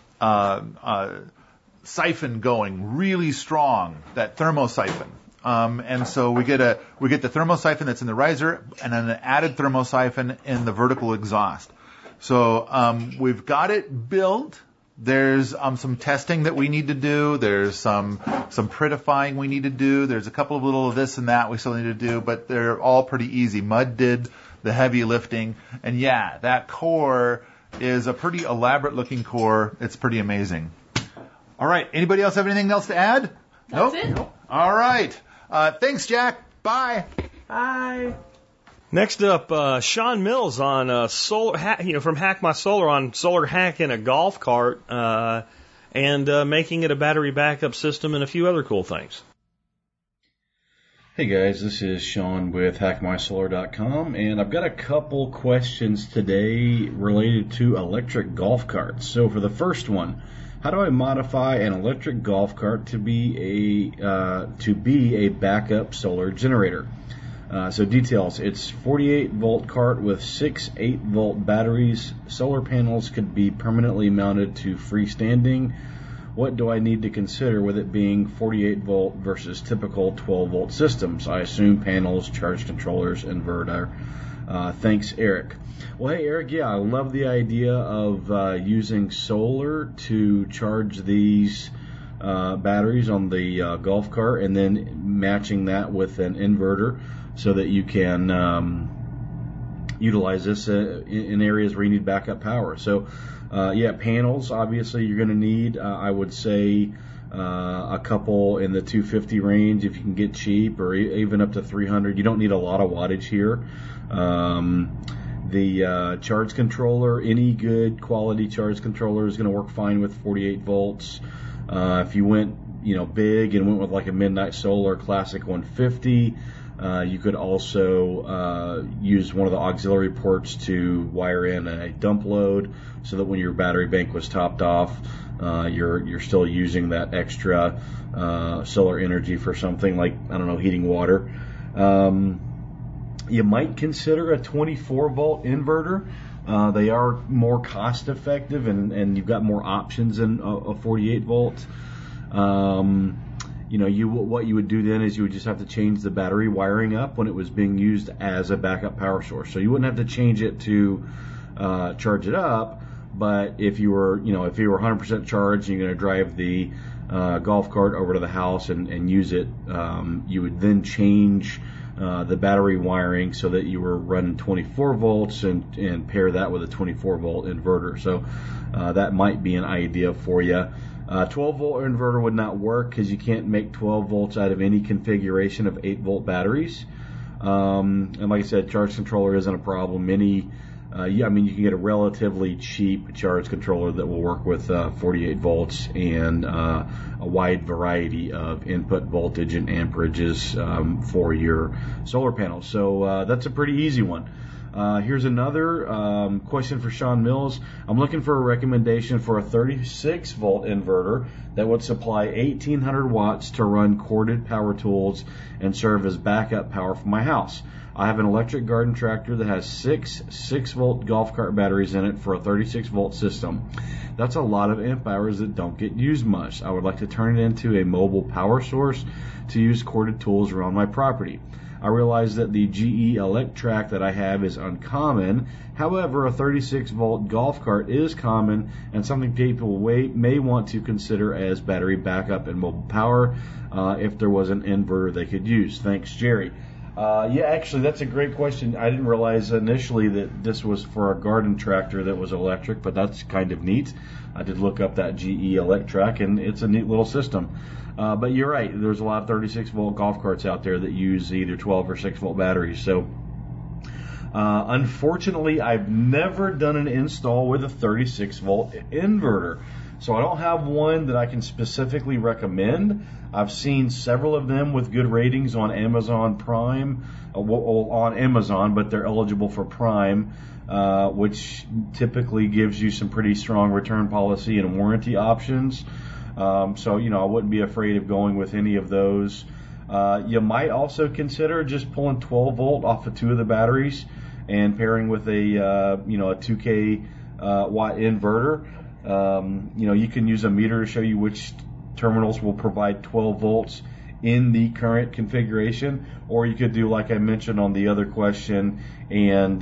siphon going really strong, that thermosiphon. And so we get the thermosiphon that's in the riser, and then an added thermosiphon in the vertical exhaust. So we've got it built. There's some testing that we need to do. There's some prettifying we need to do. There's a couple of little of this and that we still need to do, but they're all pretty easy. Mud did the heavy lifting. And yeah, that core is a pretty elaborate looking core. It's pretty amazing. All right. Anybody else have anything else to add? That's nope? it. All right. Thanks, Jack. Bye. Bye. Next up, Sean Mills on solar, from Hack My Solar on solar hacking a golf cart and making it a battery backup system and a few other cool things. Hey guys, this is Sean with HackMySolar.com, and I've got a couple questions today related to electric golf carts. So for the first one, how do I modify an electric golf cart to be a backup solar generator? So details, it's 48 volt cart with 6 8-volt batteries. Solar panels could be permanently mounted to freestanding. What do I need to consider with it being 48 volt versus typical 12 volt systems? I assume panels, charge controllers, inverter. Thanks, Eric. Well, hey, Eric, yeah, I love the idea of using solar to charge these batteries on the golf cart and then matching that with an inverter so that you can utilize this in areas where you need backup power. So, yeah, panels, obviously, you're going to need, I would say, a couple in the 250 range if you can get cheap, or even up to 300. You don't need a lot of wattage here. The charge controller, any good quality charge controller is going to work fine with 48 volts. If you went, big and went with like a Midnight Solar Classic 150, you could also use one of the auxiliary ports to wire in a dump load so that when your battery bank was topped off, you're still using that extra solar energy for something like, heating water. You might consider a 24 volt inverter. They are more cost effective and you've got more options than a 48 volt. What you would do then is you would just have to change the battery wiring up when it was being used as a backup power source. So you wouldn't have to change it to charge it up, but if you were 100% charged and you're going to drive the golf cart over to the house and use it, you would then change the battery wiring so that you were running 24 volts and pair that with a 24 volt inverter. So that might be an idea for you. 12 volt inverter would not work because you can't make 12 volts out of any configuration of 8 volt batteries. And like I said, charge controller isn't a problem. You can get a relatively cheap charge controller that will work with 48 volts and a wide variety of input voltage and amperages for your solar panels. So that's a pretty easy one. Here's another question for Sean Mills. I'm looking for a recommendation for a 36-volt inverter that would supply 1,800 watts to run corded power tools and serve as backup power for my house. I have an electric garden tractor that has 6-volt golf cart batteries in it for a 36-volt system. That's a lot of amp hours that don't get used much. I would like to turn it into a mobile power source to use corded tools around my property. I realize that the GE Electrac that I have is uncommon. However, a 36-volt golf cart is common and something people may want to consider as battery backup and mobile power if there was an inverter they could use. Thanks, Jerry. Yeah, actually, that's a great question. I didn't realize initially that this was for a garden tractor that was electric, but that's kind of neat. I did look up that GE Electrac, and it's a neat little system. But you're right. There's a lot of 36-volt golf carts out there that use either 12 or 6-volt batteries. So, unfortunately, I've never done an install with a 36-volt inverter. So I don't have one that I can specifically recommend. I've seen several of them with good ratings on Amazon Prime, on Amazon, but they're eligible for Prime, which typically gives you some pretty strong return policy and warranty options. So, I wouldn't be afraid of going with any of those. You might also consider just pulling 12 volt off of 2 of the batteries and pairing with a 2K watt inverter. You can use a meter to show you which terminals will provide 12 volts in the current configuration, or you could do like I mentioned on the other question and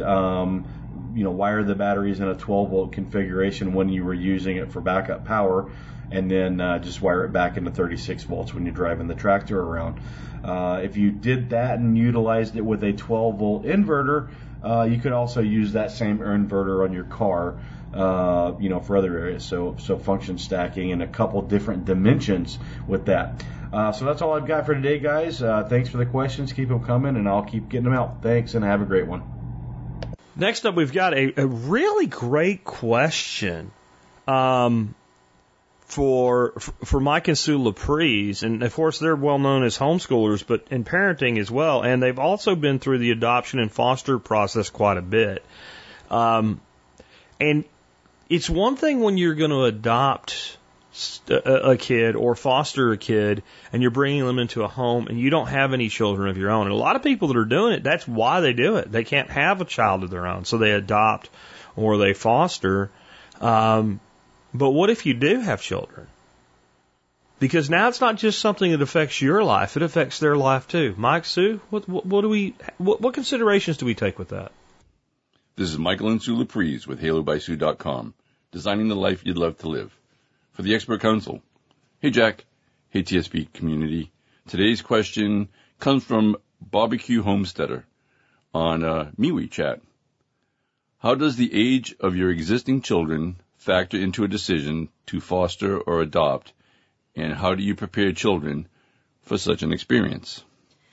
wire the batteries in a 12 volt configuration when you were using it for backup power, and then just wire it back into 36 volts when you're driving the tractor around. If you did that and utilized it with a 12 volt inverter, you could also use that same inverter on your car, for other areas. So function stacking in a couple different dimensions with that. So that's all I've got for today, guys. Thanks for the questions. Keep them coming, and I'll keep getting them out. Thanks, and have a great one. Next up, we've got a really great question for Mike and Sue Laprise. And, of course, they're well known as homeschoolers, but in parenting as well. And they've also been through the adoption and foster process quite a bit. And it's one thing when you're going to adopt a kid or foster a kid and you're bringing them into a home and you don't have any children of your own. And a lot of people that are doing it, that's why they do it. They can't have a child of their own, so they adopt or they foster. But what if you do have children? Because now it's not just something that affects your life, it affects their life too. Mike, Sue, what considerations do we take with that? This is Michael and Sue Laprise with HaloBySue.com, designing the life you'd love to live. For the Expert Council. Hey, Jack. Hey, TSP community. Today's question comes from Barbecue Homesteader on MeWe chat. How does the age of your existing children factor into a decision to foster or adopt, and how do you prepare children for such an experience?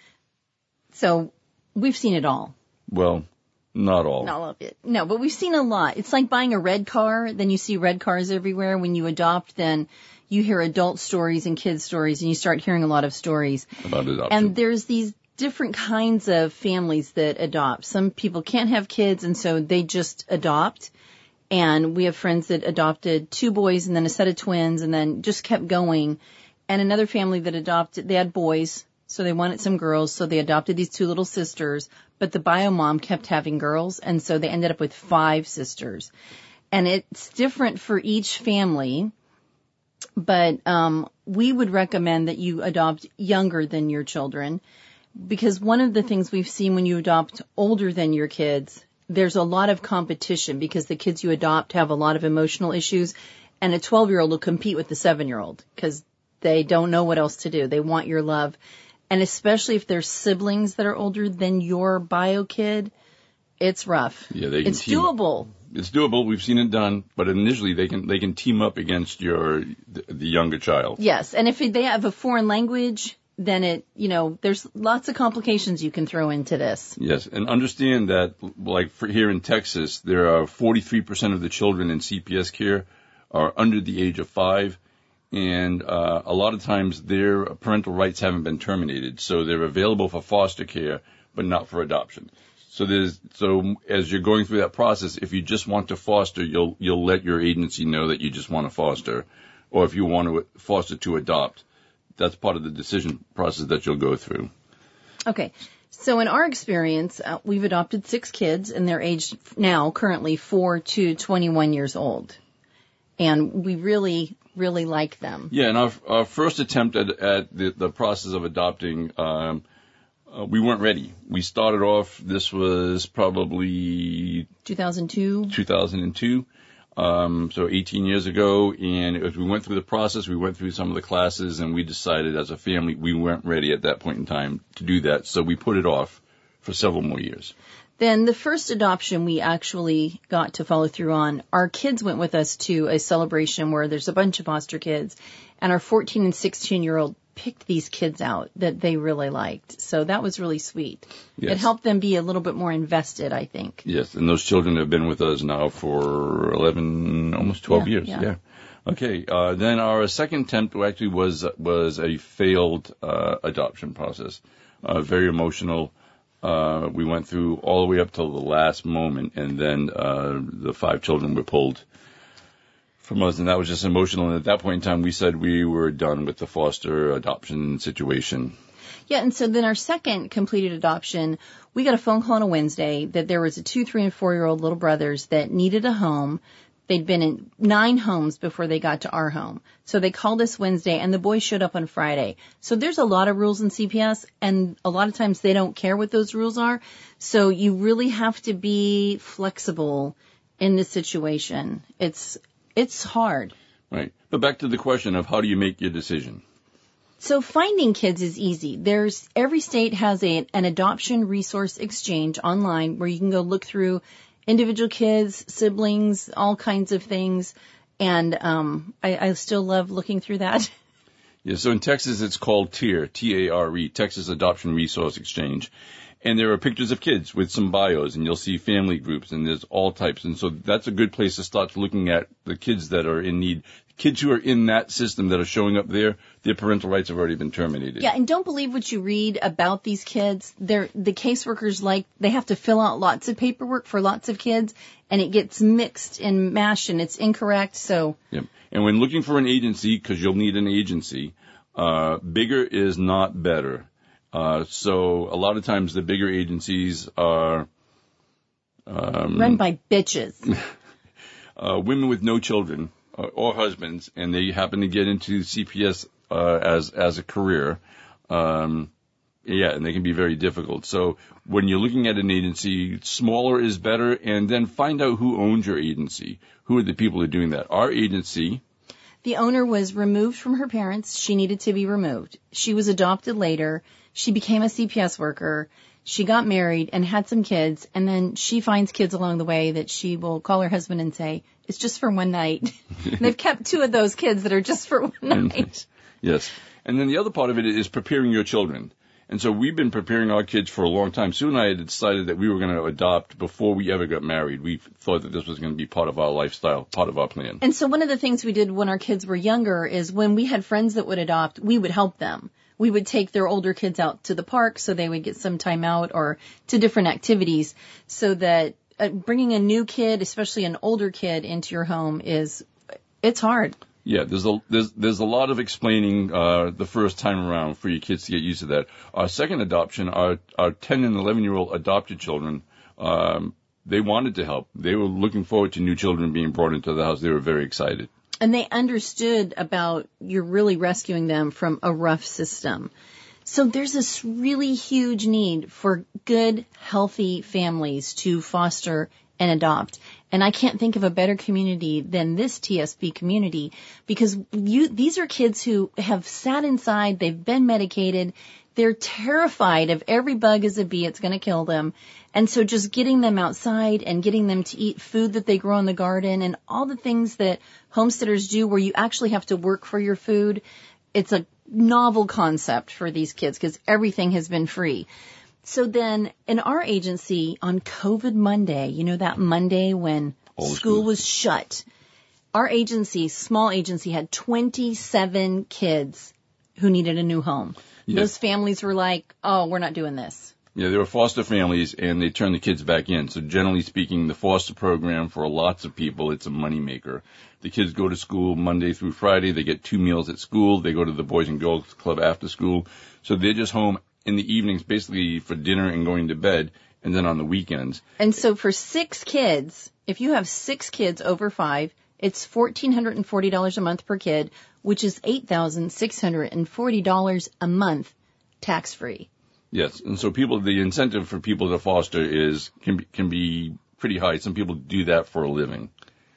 So, we've seen it all. Well, not all. Not all of it. No, but we've seen a lot. It's like buying a red car, then you see red cars everywhere. When you adopt, then you hear adult stories and kids stories, and you start hearing a lot of stories about adoption. And there's these different kinds of families that adopt. Some people can't have kids, and so they just adopt. And we have friends that adopted 2 boys and then a set of twins and then just kept going. And another family that adopted, they had boys, so they wanted some girls, so they adopted these 2 little sisters. But the bio mom kept having girls, and so they ended up with 5 sisters. And it's different for each family, but we would recommend that you adopt younger than your children, because one of the things we've seen when you adopt older than your kids, there's a lot of competition because the kids you adopt have a lot of emotional issues, and a 12-year-old will compete with the 7-year-old because they don't know what else to do. They want your love. And especially if there's siblings that are older than your bio kid, it's rough. Yeah, it's doable. It's doable. We've seen it done, but initially they can team up against the younger child. Yes, and if they have a foreign language, then there's lots of complications you can throw into this. Yes, and understand that, like here in Texas, there are 43% of the children in CPS care are under the age of 5. And a lot of times their parental rights haven't been terminated, so they're available for foster care, but not for adoption. So as you're going through that process, if you just want to foster, you'll let your agency know that you just want to foster, or if you want to foster to adopt, that's part of the decision process that you'll go through. Okay. So in our experience, we've adopted 6 kids, and they're aged now currently 4 to 21 years old. And we really, really like them. Yeah, and our first attempt at the process of adopting, we weren't ready. We started off, this was probably 2002. So 18 years ago, and as we went through the process, we went through some of the classes, and we decided as a family we weren't ready at that point in time to do that, so we put it off for several more years. Then the first adoption we actually got to follow through on, our kids went with us to a celebration where there's a bunch of foster kids, and our 14 and 16-year-old picked these kids out that they really liked. So that was really sweet. Yes. It helped them be a little bit more invested, I think. Yes, and those children have been with us now for 11, almost 12 years. Yeah. Okay, then our second attempt actually was a failed adoption process. Very emotional. We went through all the way up till the last moment, and then the 5 children were pulled from us, and that was just emotional. And at that point in time, we said we were done with the foster adoption situation. Yeah, and so then our second completed adoption, we got a phone call on a Wednesday that there was a 2, 3, and 4-year-old little brothers that needed a home. They'd been in 9 homes before they got to our home. So they called us Wednesday, and the boys showed up on Friday. So there's a lot of rules in CPS, and a lot of times they don't care what those rules are. So you really have to be flexible in this situation. It's hard. Right. But back to the question of how do you make your decision? So finding kids is easy. Every state has an adoption resource exchange online where you can go look through individual kids, siblings, all kinds of things. And I still love looking through that. Yeah, so in Texas it's called TARE, T-A-R-E, Texas Adoption Resource Exchange. And there are pictures of kids with some bios, and you'll see family groups, and there's all types. And so that's a good place to start looking at the kids that are in need. Kids who are in that system that are showing up there, their parental rights have already been terminated. Yeah, and don't believe what you read about these kids. The caseworkers, they have to fill out lots of paperwork for lots of kids, and it gets mixed and mashed, and it's incorrect. So. Yep. And when looking for an agency, because you'll need an agency, bigger is not better. So a lot of times the bigger agencies are run by bitches. Women with no children or husbands, and they happen to get into CPS as a career. And they can be very difficult. So when you're looking at an agency, smaller is better, and then find out who owns your agency. Who are the people who are doing that? Our agency. The owner was removed from her parents. She needed to be removed. She was adopted later. She became a CPS worker. She got married and had some kids, and then she finds kids along the way that she will call her husband and say, it's just for one night. And they've kept 2 of those kids that are just for one night. Yes. And then the other part of it is preparing your children. And so we've been preparing our kids for a long time. Sue and I had decided that we were going to adopt before we ever got married. We thought that this was going to be part of our lifestyle, part of our plan. And so one of the things we did when our kids were younger is when we had friends that would adopt, we would help them. We would take their older kids out to the park so they would get some time out or to different activities, so that bringing a new kid, especially an older kid, into your home it's hard. Yeah, there's a lot of explaining the first time around for your kids to get used to that. Our second adoption, our 10 and 11-year-old adopted children, they wanted to help. They were looking forward to new children being brought into the house. They were very excited. And they understood about you're really rescuing them from a rough system. So there's this really huge need for good, healthy families to foster and adopt. And I can't think of a better community than this TSP community, because these are kids who have sat inside, they've been medicated, they're terrified of every bug as a bee, it's going to kill them. And so just getting them outside and getting them to eat food that they grow in the garden and all the things that homesteaders do where you actually have to work for your food, it's a novel concept for these kids because everything has been free. So then in our agency on COVID Monday, that Monday when school was shut, our agency, small agency, had 27 kids who needed a new home. Yes. Those families were like, oh, we're not doing this. Yeah, they were foster families, and they turned the kids back in. So generally speaking, the foster program for lots of people, it's a moneymaker. The kids go to school Monday through Friday. They get 2 meals at school. They go to the Boys and Girls Club after school. So they're just home in the evenings basically for dinner and going to bed, and then on the weekends. And so for 6 kids, if you have 6 kids over 5, it's $1,440 a month per kid, which is $8,640 a month tax-free. Yes, and so the incentive for people to foster can be pretty high. Some people do that for a living.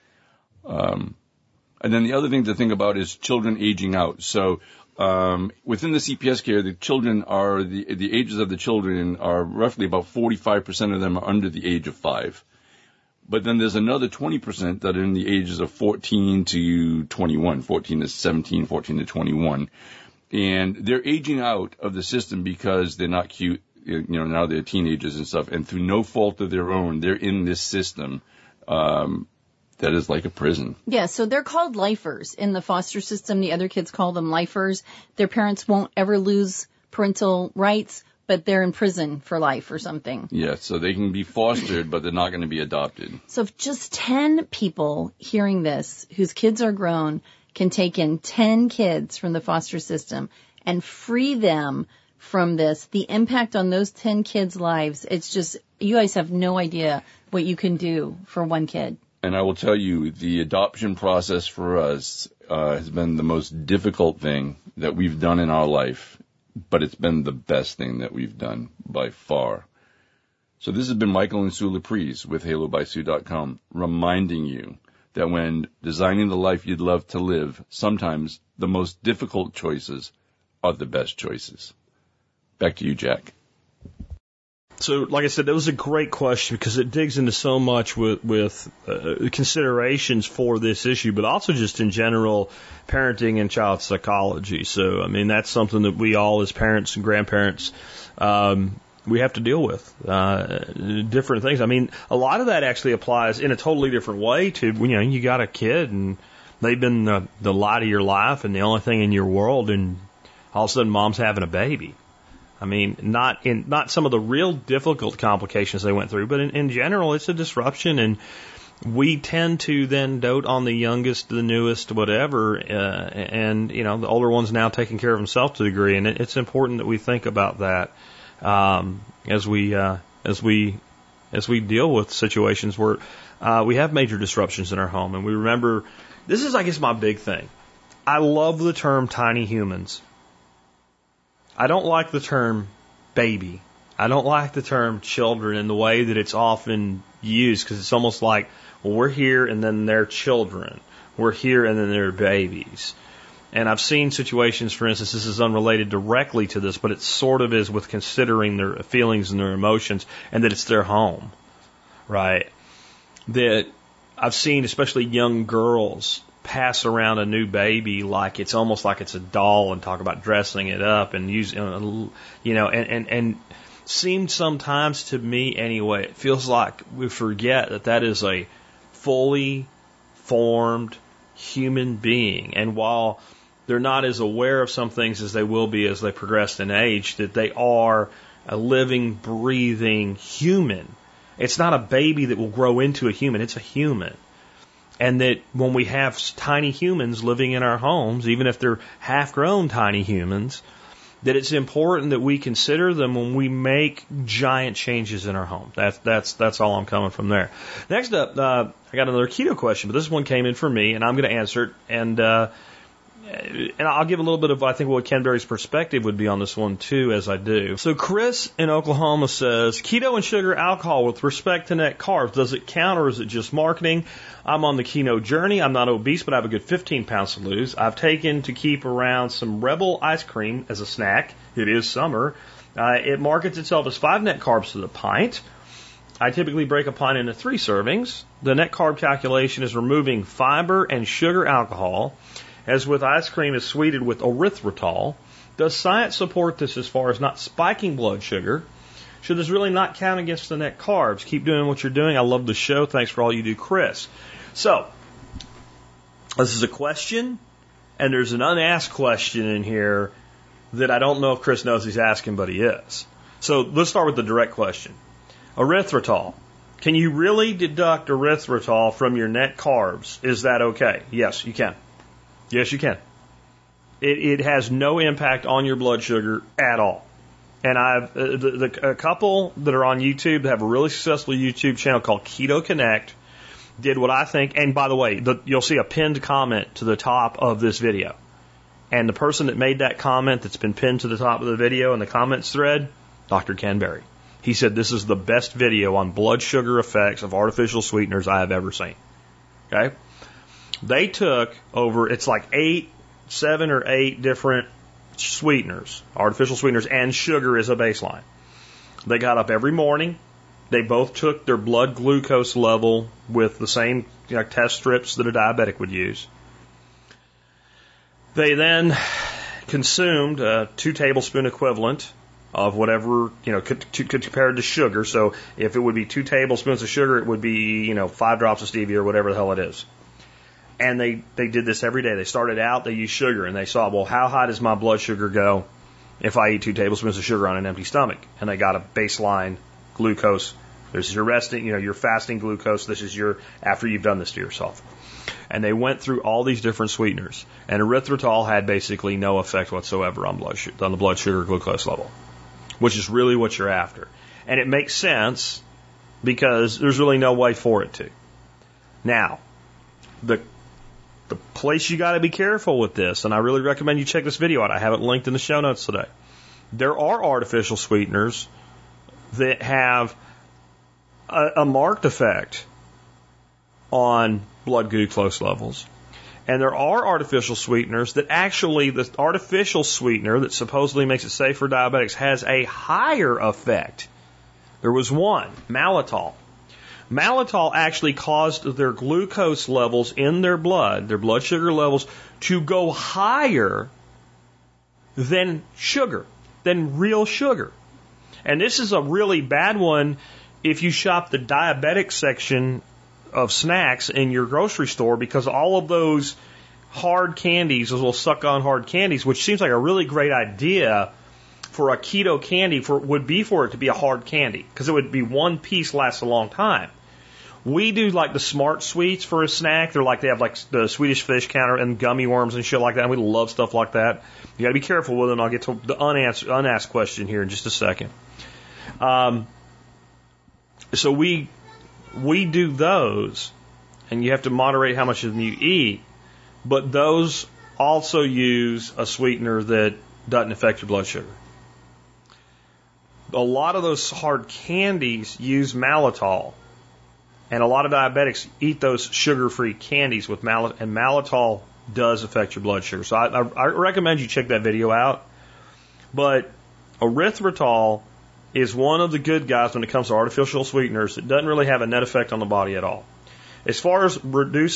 And then the other thing to think about is children aging out. So within the CPS care, the children are the ages of the children are roughly about 45% of them are under the age of 5. But then there's another 20% that are in the ages of 14 to 21, 14 to 17, 14 to 21. And they're aging out of the system because they're not cute, now they're teenagers and stuff, and through no fault of their own, they're in this system that is like a prison. Yeah, so they're called lifers in the foster system. The other kids call them lifers. Their parents won't ever lose parental rights, but they're in prison for life or something. Yeah, so they can be fostered, but they're not going to be adopted. So if just 10 people hearing this, whose kids are grown, can take in 10 kids from the foster system and free them from this, the impact on those 10 kids' lives, it's just, you guys have no idea what you can do for one kid. And I will tell you, the adoption process for us has been the most difficult thing that we've done in our life, but it's been the best thing that we've done by far. So this has been Michael and Sue Laprise with HaloBySue.com reminding you that when designing the life you'd love to live, sometimes the most difficult choices are the best choices. Back to you, Jack. So, like I said, that was a great question because it digs into so much with considerations for this issue, but also just in general parenting and child psychology. So, I mean, that's something that we all as parents and grandparents we have to deal with different things. I mean, a lot of that actually applies in a totally different way to, you got a kid and they've been the light of your life and the only thing in your world, and all of a sudden mom's having a baby. I mean, not some of the real difficult complications they went through, but in general, it's a disruption, and we tend to then dote on the youngest, the newest, whatever, and the older one's now taking care of himself to a degree, and it's important that we think about that. As we deal with situations where we have major disruptions in our home, and we remember, this is, I guess, my big thing. I love the term tiny humans. I don't like the term baby. I don't like the term children in the way that it's often used, because it's almost like, well, we're here and then they're children. We're here and then they're babies. And I've seen situations, for instance, this is unrelated directly to this, but it sort of is with considering their feelings and their emotions, and that it's their home, right? That I've seen, especially young girls, pass around a new baby like it's almost like it's a doll and talk about dressing it up and use, and seemed sometimes to me anyway, it feels like we forget that is a fully formed human being. And while they're not as aware of some things as they will be as they progress in age, that they are a living, breathing human. It's not a baby that will grow into a human. It's a human. And that when we have tiny humans living in our homes, even if they're half-grown tiny humans, that it's important that we consider them when we make giant changes in our home. That's all I'm coming from there. Next up, I got another keto question, but this one came in for me, and I'm going to answer it. And I'll give a little bit of, I think, what Ken Berry's perspective would be on this one, too, as I do. So Chris in Oklahoma says, keto and sugar alcohol with respect to net carbs, does it count or is it just marketing? I'm on the keto journey. I'm not obese, but I have a good 15 pounds to lose. I've taken to keep around some Rebel ice cream as a snack. It is summer. It markets itself as 5 net carbs to the pint. I typically break a pint into 3 servings. The net carb calculation is removing fiber and sugar alcohol. As with ice cream is sweetened with erythritol. Does science support this as far as not spiking blood sugar? Should this really not count against the net carbs? Keep doing what you're doing. I love the show. Thanks for all you do, Chris. So, this is a question, and there's an unasked question in here that I don't know if Chris knows he's asking, but he is. So let's start with the direct question. Erythritol. Can you really deduct erythritol from your net carbs? Is that okay? Yes, you can. Yes, you can. It has no impact on your blood sugar at all. And a couple that are on YouTube that have a really successful YouTube channel called Keto Connect did what I think, and by the way, you'll see a pinned comment to the top of this video. And the person that made that comment that's been pinned to the top of the video in the comments thread, Dr. Ken Berry. He said this is the best video on blood sugar effects of artificial sweeteners I have ever seen. Okay? They took it's like 7 or 8 different sweeteners, artificial sweeteners, and sugar as a baseline. They got up every morning. They both took their blood glucose level with the same test strips that a diabetic would use. They then consumed a 2 tablespoon equivalent of whatever, compared to sugar. So if it would be 2 tablespoons of sugar, it would be, 5 drops of stevia or whatever the hell it is. And they did this every day. They started out, they used sugar, and they saw, well, how high does my blood sugar go if I eat 2 tablespoons of sugar on an empty stomach? And they got a baseline glucose. This is your resting, your fasting glucose. This is your after you've done this to yourself. And they went through all these different sweeteners. And erythritol had basically no effect whatsoever on the blood sugar glucose level, which is really what you're after. And it makes sense because there's really no way for it to. Now, the place you got to be careful with this, and I really recommend you check this video out. I have it linked in the show notes today. There are artificial sweeteners that have a marked effect on blood glucose levels. And there are artificial sweeteners that actually, the artificial sweetener that supposedly makes it safe for diabetics has a higher effect. There was one, malitol. Malitol actually caused their glucose levels in their blood sugar levels, to go higher than sugar, than real sugar. And this is a really bad one if you shop the diabetic section of snacks in your grocery store, because all of those hard candies, those little suck-on hard candies, which seems like a really great idea for a keto candy, would be for it to be a hard candy, because it would be one piece, lasts a long time. We do like the Smart Sweets for a snack. They have like the Swedish Fish Counter and gummy worms and shit like that. And we love stuff like that. You got to be careful with it. And I'll get to the unasked question here in just a second. So we do those, and you have to moderate how much of them you eat. But those also use a sweetener that doesn't affect your blood sugar. A lot of those hard candies use malitol. And a lot of diabetics eat those sugar-free candies with malitol, and malitol does affect your blood sugar. So I recommend you check that video out. But erythritol is one of the good guys when it comes to artificial sweeteners that doesn't really have a net effect on the body at all. As far as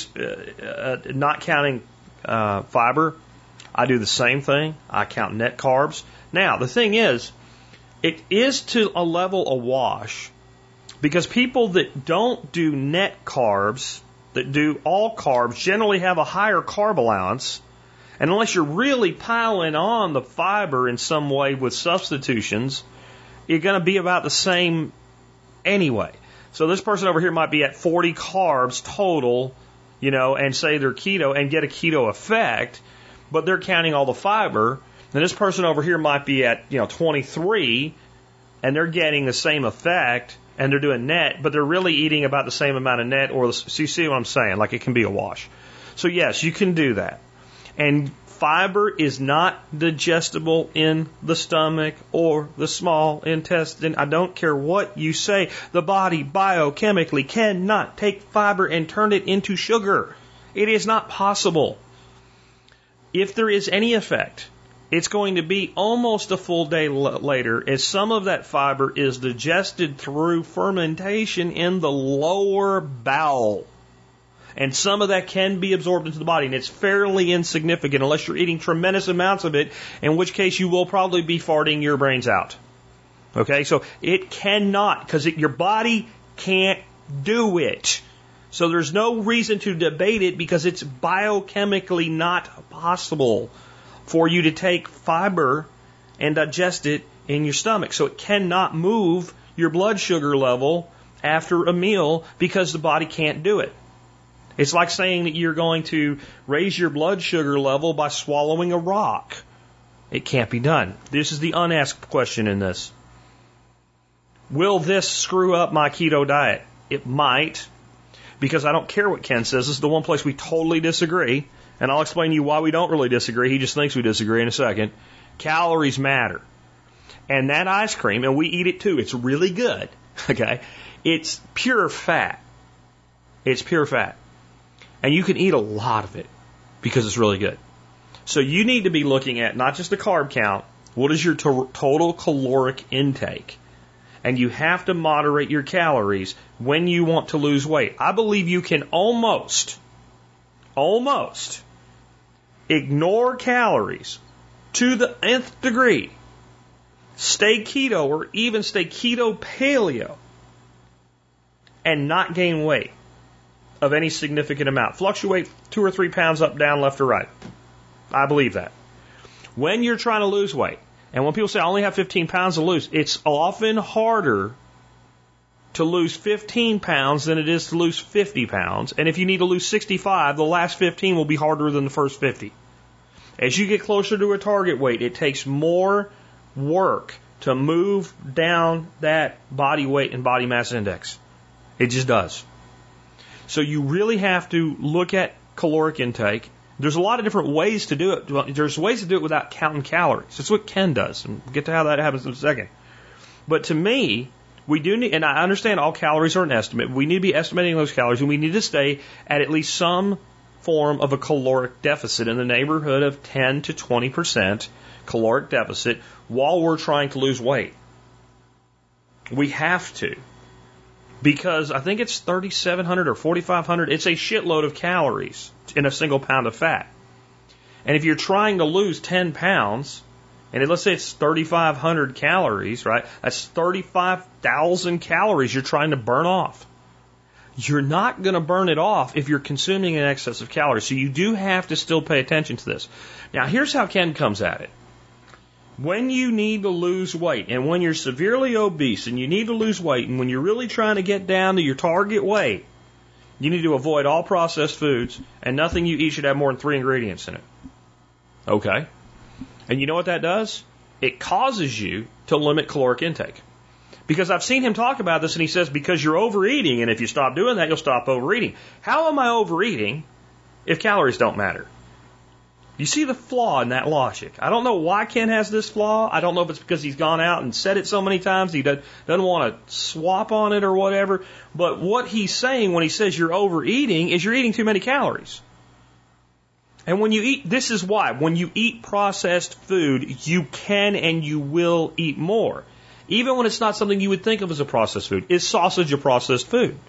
not counting fiber, I do the same thing. I count net carbs. Now, the thing is, it is to a level awash, because people that don't do net carbs, that do all carbs, generally have a higher carb allowance. And unless you're really piling on the fiber in some way with substitutions, you're going to be about the same anyway. So this person over here might be at 40 carbs total, and say they're keto and get a keto effect, but they're counting all the fiber. And this person over here might be at, 23, and they're getting the same effect, and they're doing net, but they're really eating about the same amount of net, so you see what I'm saying? Like, it can be a wash. So yes, you can do that. And fiber is not digestible in the stomach or the small intestine. I don't care what you say. The body biochemically cannot take fiber and turn it into sugar. It is not possible. If there is any effect, it's going to be almost a full day later, as some of that fiber is digested through fermentation in the lower bowel. And some of that can be absorbed into the body, and it's fairly insignificant unless you're eating tremendous amounts of it, in which case you will probably be farting your brains out. Okay, so it cannot, because your body can't do it. So there's no reason to debate it, because it's biochemically not possible for you to take fiber and digest it in your stomach. So it cannot move your blood sugar level after a meal because the body can't do it. It's like saying that you're going to raise your blood sugar level by swallowing a rock. It can't be done. This is the unasked question in this. Will this screw up my keto diet? It might, because I don't care what Ken says. This is the one place we totally disagree, and I'll explain to you why we don't really disagree. He just thinks we disagree in a second. Calories matter. And that ice cream, and we eat it too, it's really good, okay? It's pure fat. It's pure fat. And you can eat a lot of it because it's really good. So you need to be looking at not just the carb count, what is your total caloric intake? And you have to moderate your calories when you want to lose weight. I believe you can almost ignore calories to the nth degree, stay keto or even stay keto paleo, and not gain weight of any significant amount. Fluctuate 2 or 3 pounds up, down, left, or right. I believe that. When you're trying to lose weight, and when people say, I only have 15 pounds to lose, it's often harder to lose 15 pounds than it is to lose 50 pounds. And if you need to lose 65, the last 15 will be harder than the first 50. As you get closer to a target weight, it takes more work to move down that body weight and body mass index. It just does. So you really have to look at caloric intake. There's a lot of different ways to do it. There's ways to do it without counting calories. That's what Ken does. And we'll get to how that happens in a second. But to me, we do need, and I understand all calories are an estimate. We need to be estimating those calories, and we need to stay at least some form of a caloric deficit in the neighborhood of 10 to 20% caloric deficit while we're trying to lose weight. We have to. Because I think it's 3,700 or 4,500. It's a shitload of calories in a single pound of fat. And if you're trying to lose 10 pounds, and let's say it's 3,500 calories, right? That's 35,000 calories you're trying to burn off. You're not going to burn it off if you're consuming in excess of calories. So you do have to still pay attention to this. Now, here's how Ken comes at it. When you need to lose weight, and when you're severely obese and you need to lose weight, and when you're really trying to get down to your target weight, you need to avoid all processed foods, and nothing you eat should have more than 3 ingredients in it. Okay? And you know what that does? It causes you to limit caloric intake. Because I've seen him talk about this, and he says, because you're overeating, and if you stop doing that, you'll stop overeating. How am I overeating if calories don't matter? You see the flaw in that logic. I don't know why Ken has this flaw. I don't know if it's because he's gone out and said it so many times he doesn't want to swap on it or whatever. But what he's saying when he says you're overeating is you're eating too many calories. And when you eat, this is why. When you eat processed food, you can and you will eat more. Even when it's not something you would think of as a processed food. Is sausage a processed food?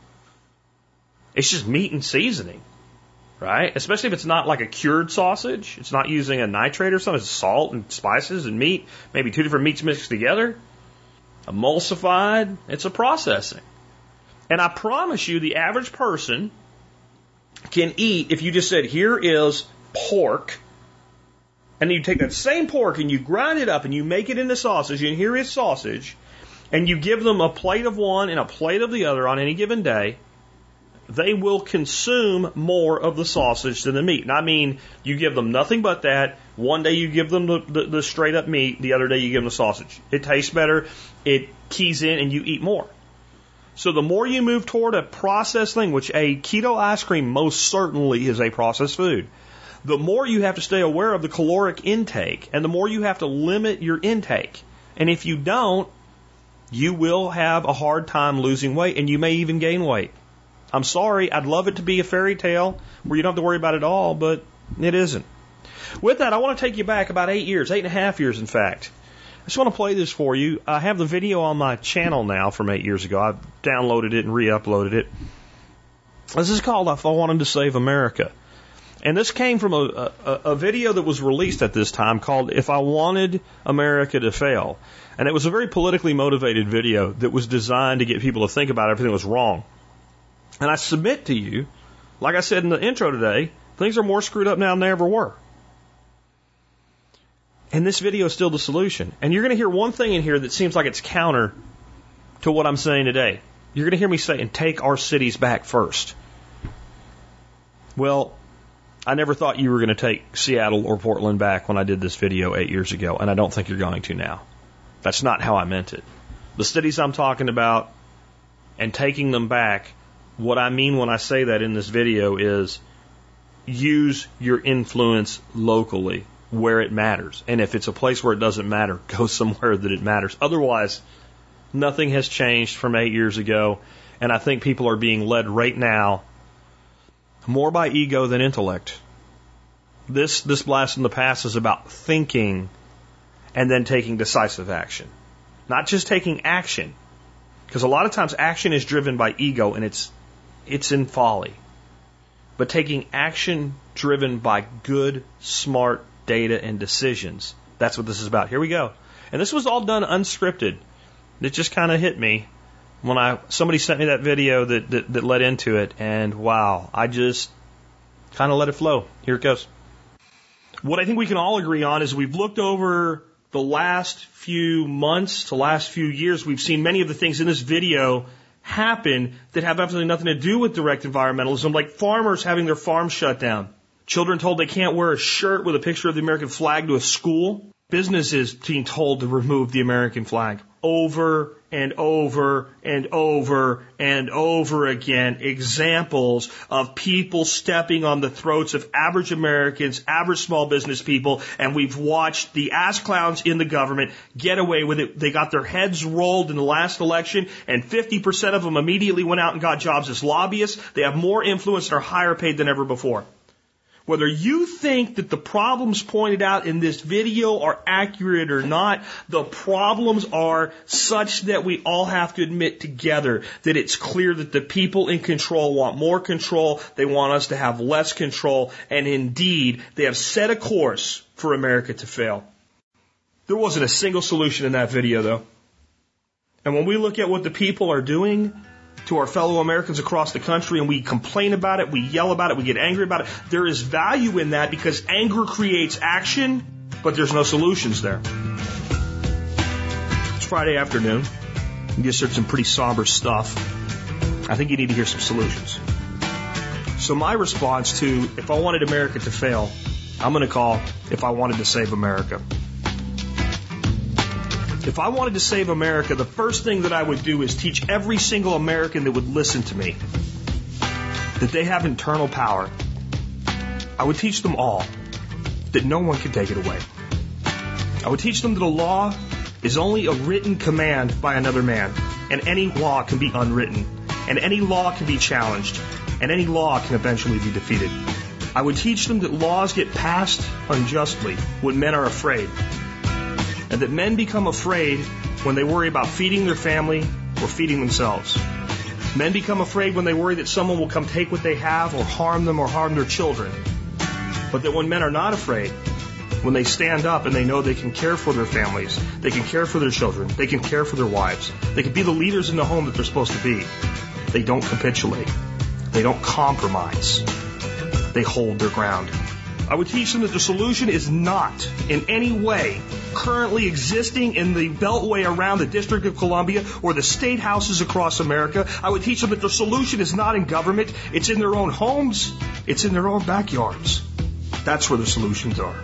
It's just meat and seasoning. Right? Especially if it's not like a cured sausage. It's not using a nitrate or something. It's salt and spices and meat. Maybe 2 different meats mixed together. Emulsified. It's a processing. And I promise you the average person can eat, if you just said, here is pork, and you take that same pork and you grind it up and you make it into sausage, and here is sausage, and you give them a plate of one and a plate of the other on any given day, they will consume more of the sausage than the meat. And I mean, you give them nothing but that. One day you give them the straight up meat. The other day you give them the sausage. It tastes better. It keys in and you eat more. So the more you move toward a processed thing, which a keto ice cream most certainly is a processed food, the more you have to stay aware of the caloric intake and the more you have to limit your intake. And if you don't, you will have a hard time losing weight and you may even gain weight. I'm sorry, I'd love it to be a fairy tale where you don't have to worry about it all, but it isn't. With that, I want to take you back about 8 years, 8.5 years in fact. I just want to play this for you. I have the video on my channel now from 8 years ago. I've downloaded it and re-uploaded it. This is called If I Wanted to Save America. And this came from a video that was released at this time called If I Wanted America to Fail. And it was a very politically motivated video that was designed to get people to think about everything that was wrong. And I submit to you, like I said in the intro today, things are more screwed up now than they ever were. And this video is still the solution. And you're going to hear one thing in here that seems like it's counter to what I'm saying today. You're going to hear me say, and take our cities back first. Well, I never thought you were going to take Seattle or Portland back when I did this video 8 years ago, and I don't think you're going to now. That's not how I meant it. The cities I'm talking about and taking them back, what I mean when I say that in this video is use your influence locally where it matters. And if it's a place where it doesn't matter, go somewhere that it matters. Otherwise, nothing has changed from 8 years ago, and I think people are being led right now more by ego than intellect. This blast from the past is about thinking and then taking decisive action. Not just taking action, because a lot of times action is driven by ego and it's in folly. But taking action driven by good, smart data and decisions, that's what this is about. Here we go. And this was all done unscripted. It just kind of hit me when somebody sent me that video that led into it, and wow, I just kind of let it flow. Here it goes. What I think we can all agree on is we've looked over the last few months to last few years, we've seen many of the things in this video happen that have absolutely nothing to do with direct environmentalism, like farmers having their farms shut down, children told they can't wear a shirt with a picture of the American flag to a school, businesses being told to remove the American flag. Over and over and over and over again, examples of people stepping on the throats of average Americans, average small business people, and we've watched the ass clowns in the government get away with it. They got their heads rolled in the last election, and 50% of them immediately went out and got jobs as lobbyists. They have more influence and are higher paid than ever before. Whether you think that the problems pointed out in this video are accurate or not, the problems are such that we all have to admit together that it's clear that the people in control want more control, they want us to have less control, and indeed, they have set a course for America to fail. There wasn't a single solution in that video, though. And when we look at what the people are doing to our fellow Americans across the country, and we complain about it, we yell about it, we get angry about it, there is value in that because anger creates action, but there's no solutions there. It's Friday afternoon. You just heard some pretty somber stuff. I think you need to hear some solutions. So my response to, if I wanted America to fail, I'm going to call, if I wanted to save America. If I wanted to save America, the first thing that I would do is teach every single American that would listen to me that they have internal power. I would teach them all that no one can take it away. I would teach them that a law is only a written command by another man, and any law can be unwritten, and any law can be challenged, and any law can eventually be defeated. I would teach them that laws get passed unjustly when men are afraid, and that men become afraid when they worry about feeding their family or feeding themselves. Men become afraid when they worry that someone will come take what they have or harm them or harm their children. But that when men are not afraid, when they stand up and they know they can care for their families, they can care for their children, they can care for their wives, they can be the leaders in the home that they're supposed to be, they don't capitulate. They don't compromise. They hold their ground. I would teach them that the solution is not in any way currently existing in the beltway around the District of Columbia or the state houses across America. I would teach them that the solution is not in government. It's in their own homes. It's in their own backyards. That's where the solutions are.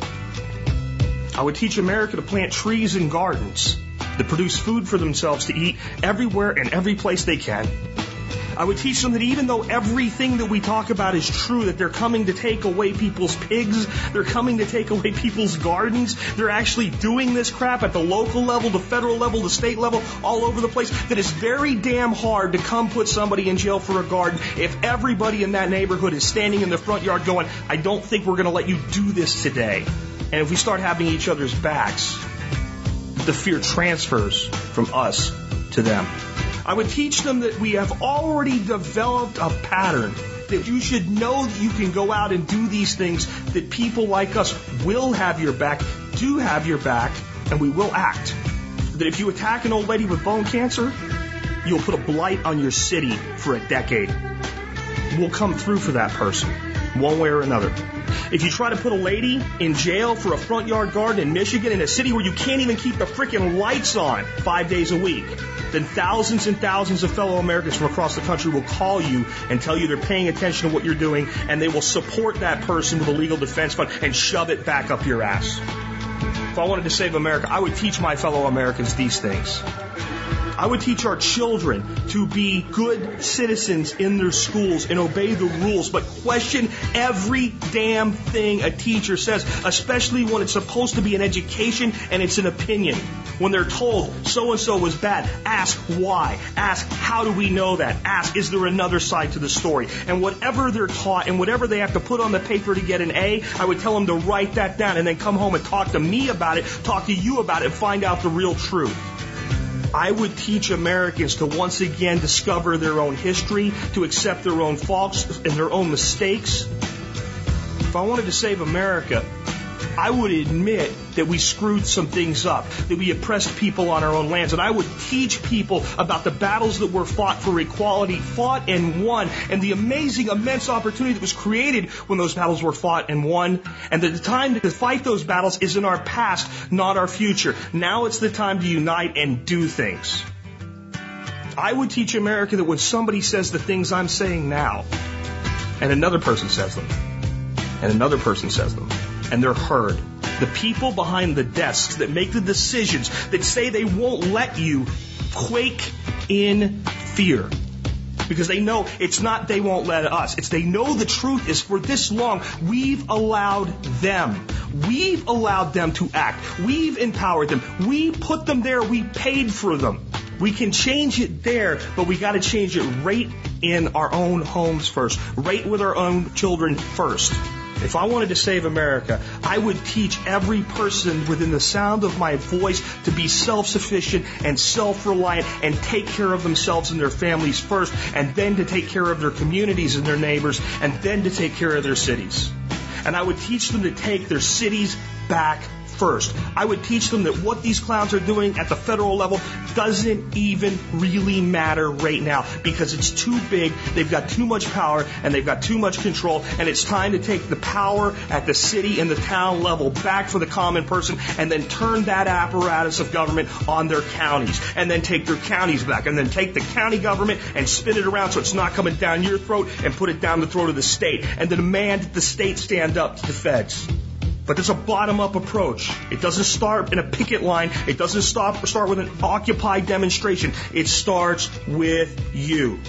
I would teach America to plant trees and gardens that produce food for themselves to eat everywhere and every place they can. I would teach them that even though everything that we talk about is true, that they're coming to take away people's pigs, they're coming to take away people's gardens, they're actually doing this crap at the local level, the federal level, the state level, all over the place, that it's very damn hard to come put somebody in jail for a garden if everybody in that neighborhood is standing in the front yard going, I don't think we're going to let you do this today. And if we start having each other's backs, the fear transfers from us to them. I would teach them that we have already developed a pattern, that you should know that you can go out and do these things, that people like us will have your back, do have your back, and we will act. That if you attack an old lady with bone cancer, you'll put a blight on your city for a decade. We'll come through for that person, one way or another. If you try to put a lady in jail for a front yard garden in Michigan, in a city where you can't even keep the freaking lights on 5 days a week, then thousands and thousands of fellow Americans from across the country will call you and tell you they're paying attention to what you're doing, and they will support that person with a legal defense fund and shove it back up your ass. If I wanted to save America, I would teach my fellow Americans these things. I would teach our children to be good citizens in their schools and obey the rules, but question every damn thing a teacher says, especially when it's supposed to be an education and it's an opinion. When they're told so-and-so was bad, ask why. Ask how do we know that? Ask is there another side to the story? And whatever they're taught and whatever they have to put on the paper to get an A, I would tell them to write that down and then come home and talk to me about it, talk to you about it, and find out the real truth. I would teach Americans to once again discover their own history, to accept their own faults and their own mistakes. If I wanted to save America, I would admit that we screwed some things up, that we oppressed people on our own lands, and I would teach people about the battles that were fought for equality, fought and won, and the amazing, immense opportunity that was created when those battles were fought and won, and that the time to fight those battles is in our past, not our future. Now it's the time to unite and do things. I would teach America that when somebody says the things I'm saying now, and another person says them, and another person says them, and they're heard. The people behind the desks that make the decisions, that say they won't let you, quake in fear. Because they know it's not they won't let us. It's they know the truth is for this long, we've allowed them. We've allowed them to act. We've empowered them. We put them there. We paid for them. We can change it there, but we got to change it right in our own homes first. Right with our own children first. If I wanted to save America, I would teach every person within the sound of my voice to be self-sufficient and self-reliant and take care of themselves and their families first, and then to take care of their communities and their neighbors, and then to take care of their cities. And I would teach them to take their cities back first. I would teach them that what these clowns are doing at the federal level doesn't even really matter right now because it's too big, they've got too much power, and they've got too much control, and it's time to take the power at the city and the town level back for the common person and then turn that apparatus of government on their counties, and then take their counties back, and then take the county government and spin it around so it's not coming down your throat and put it down the throat of the state, and then demand that the state stand up to the feds. But it's a bottom-up approach. It doesn't start in a picket line. It doesn't start with an Occupy demonstration. It starts with you.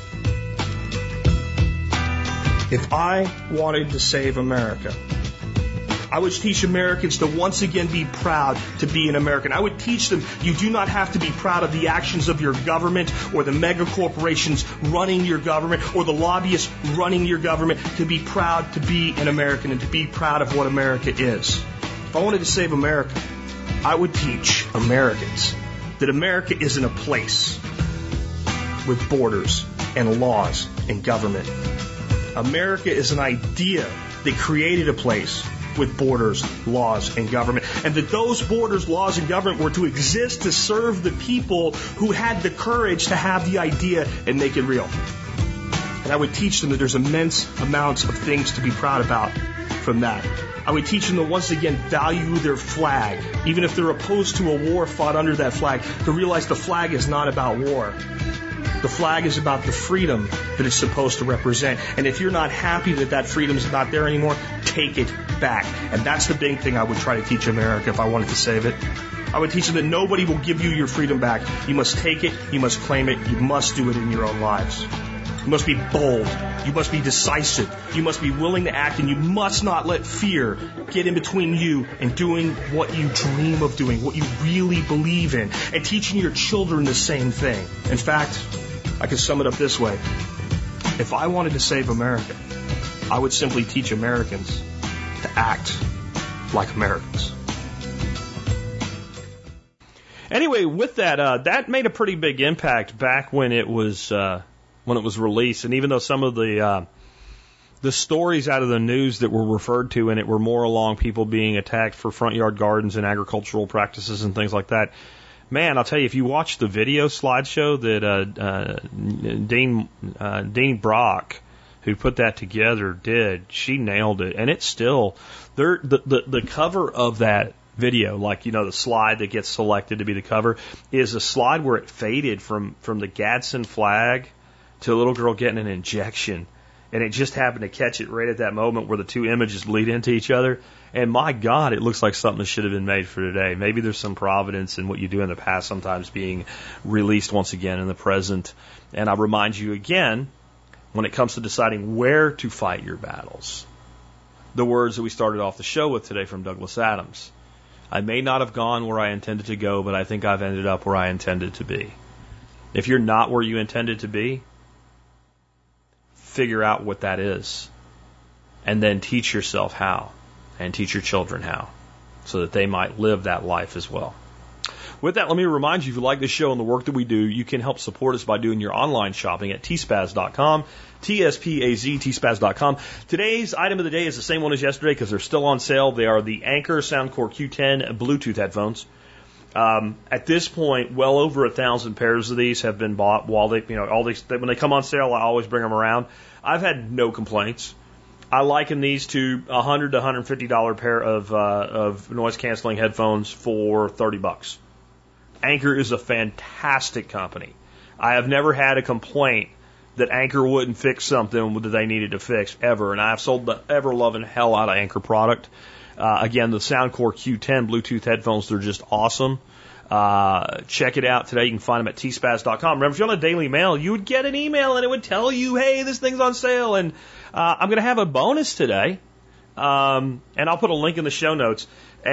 If I wanted to save America, I would teach Americans to once again be proud to be an American. I would teach them you do not have to be proud of the actions of your government or the mega corporations running your government or the lobbyists running your government to be proud to be an American and to be proud of what America is. If I wanted to save America, I would teach Americans that America isn't a place with borders and laws and government. America is an idea that created a place with borders, laws, and government. And that those borders, laws, and government were to exist to serve the people who had the courage to have the idea and make it real. And I would teach them that there's immense amounts of things to be proud about from that. I would teach them to once again value their flag, even if they're opposed to a war fought under that flag, to realize the flag is not about war. The flag is about the freedom that it's supposed to represent. And if you're not happy that that freedom is not there anymore, take it back. And that's the big thing I would try to teach America if I wanted to save it. I would teach them that nobody will give you your freedom back. You must take it. You must claim it. You must do it in your own lives. You must be bold. You must be decisive. You must be willing to act, and you must not let fear get in between you and doing what you dream of doing, what you really believe in, and teaching your children the same thing. In fact, I can sum it up this way. If I wanted to save America, I would simply teach Americans to act like Americans. Anyway, with that, that made a pretty big impact back when it was released, and even though some of the stories out of the news that were referred to in it were more along people being attacked for front yard gardens and agricultural practices and things like that. Man, I'll tell you, if you watch the video slideshow that Dean Brock who put that together did. She nailed it, and it's still the cover of that video, like, you know, the slide that gets selected to be the cover, is a slide where it faded from the Gadsden flag to a little girl getting an injection. And it just happened to catch it right at that moment where the two images bleed into each other. And my God, it looks like something that should have been made for today. Maybe there's some providence in what you do in the past sometimes being released once again in the present. And I remind you again, when it comes to deciding where to fight your battles, the words that we started off the show with today from Douglas Adams. I may not have gone where I intended to go, but I think I've ended up where I intended to be. If you're not where you intended to be, figure out what that is, and then teach yourself how, and teach your children how, so that they might live that life as well. With that, let me remind you, if you like this show and the work that we do, you can help support us by doing your online shopping at tspaz.com, T-S-P-A-Z, tspaz.com. Today's item of the day is the same one as yesterday because they're still on sale. They are the Anker Soundcore Q10 Bluetooth headphones. At this point, well over 1,000 pairs of these have been bought. While they, you know, when they come on sale, I always bring them around. I've had no complaints. I liken these to $100 to $150 pair of noise canceling headphones for $30. Anker is a fantastic company. I have never had a complaint that Anker wouldn't fix something that they needed to fix ever, and I've sold the ever-loving hell out of Anker product. Again, the Soundcore Q10 Bluetooth headphones, they're just awesome. Check it out today. You can find them at tspaz.com. Remember, if you're on a Daily Mail, you would get an email and it would tell you, hey, this thing's on sale. And I'm going to have a bonus today, and I'll put a link in the show notes.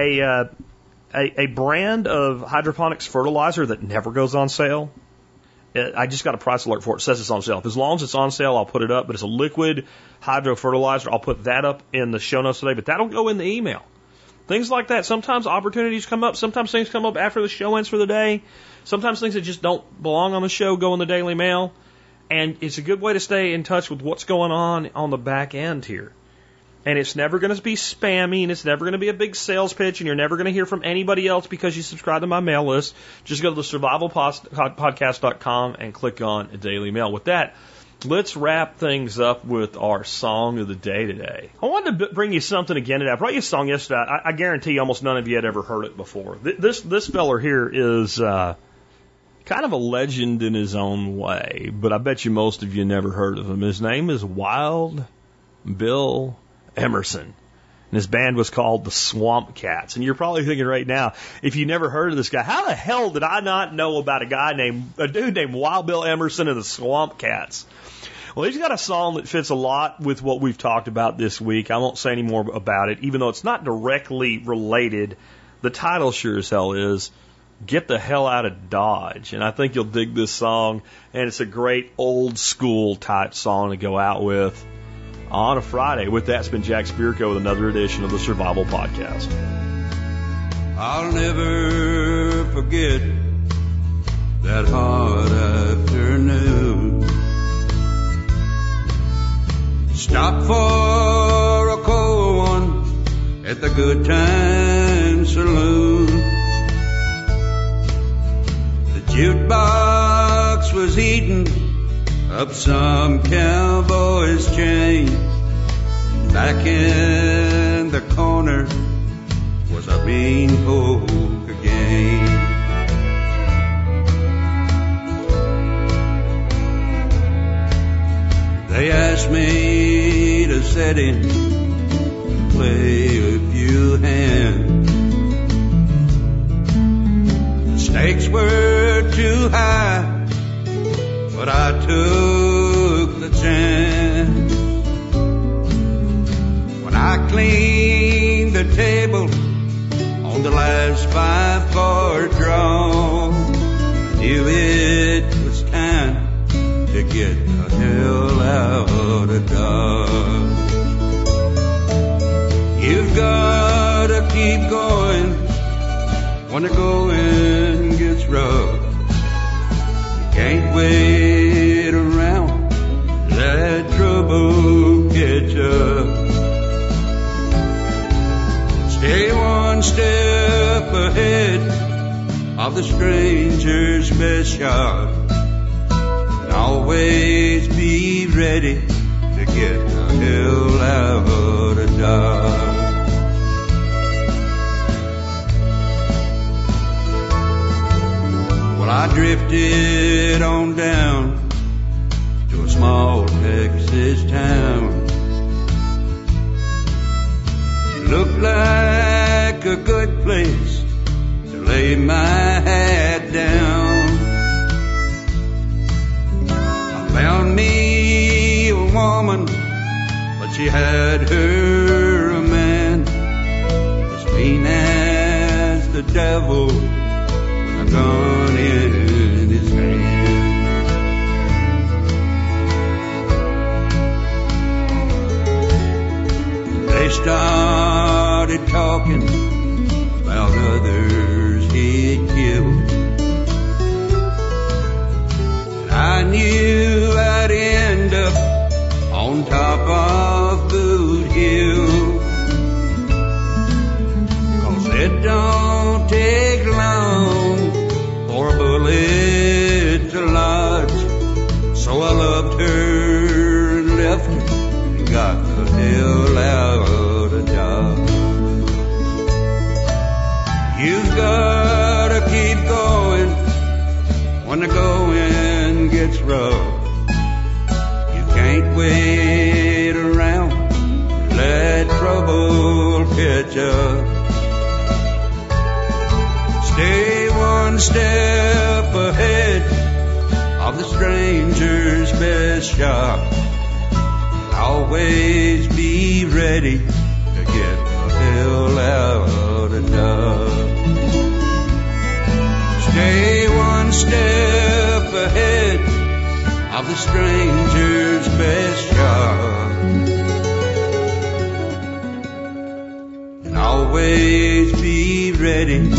A brand of hydroponics fertilizer that never goes on sale. I just got a price alert for it. It says it's on sale. As long as it's on sale, I'll put it up. But it's a liquid hydro fertilizer. I'll put that up in the show notes today. But that'll go in the email. Things like that. Sometimes opportunities come up. Sometimes things come up after the show ends for the day. Sometimes things that just don't belong on the show go in the Daily Mail. And it's a good way to stay in touch with what's going on the back end here. And it's never going to be spammy, and it's never going to be a big sales pitch, and you're never going to hear from anybody else because you subscribe to my mail list. Just go to the survivalpodcast.com and click on Daily Mail. With that, let's wrap things up with our song of the day today. I wanted to bring you something again today. I brought you a song yesterday. I guarantee you almost none of you had ever heard it before. This feller here is kind of a legend in his own way, but I bet you most of you never heard of him. His name is Wild Bill Emerson. And his band was called the Swamp Cats. And you're probably thinking right now, if you never heard of this guy, how the hell did I not know about a dude named Wild Bill Emerson and the Swamp Cats? Well, he's got a song that fits a lot with what we've talked about this week. I won't say any more about it, even though it's not directly related. The title sure as hell is Get the Hell Out of Dodge. And I think you'll dig this song. And it's a great old school type song to go out with on a Friday. With that, it's been Jack Spirko with another edition of the Survival Podcast. I'll never forget that hot afternoon. Stopped for a cold one at the Good Time Saloon. The jukebox was eating up some cowboy's chain. Back in the corner was a mean poker game. They asked me to sit in and play a few hands. The stakes were too high, but I took the chance. When I cleaned the table on the last 5-card draw, I knew it was time to get the hell out of Dodge. You've got to keep going when the going gets rough. Can't wait around, let trouble catch up. Stay one step ahead of the stranger's best shot. And always be ready to get the hell out of Dodge. Well, I drifted on down to a small Texas town. It looked like a good place to lay my hat down. I found me a woman, but she had her a man, as mean as the devil, with a gun in his hand. They started talking about others he'd killed, and I knew I'd end up on top of Boot Hill, 'cause it don't take long for a bullet to lodge. So I loved her and left her and got the hell out of Dodge. You've gotta keep going when the going gets rough. You can't wait around and let trouble catch up. Stay one step ahead of the stranger's best shot. Always be ready to get the hell out of Dodge. Stay one step ahead of the stranger's best shot. And always be ready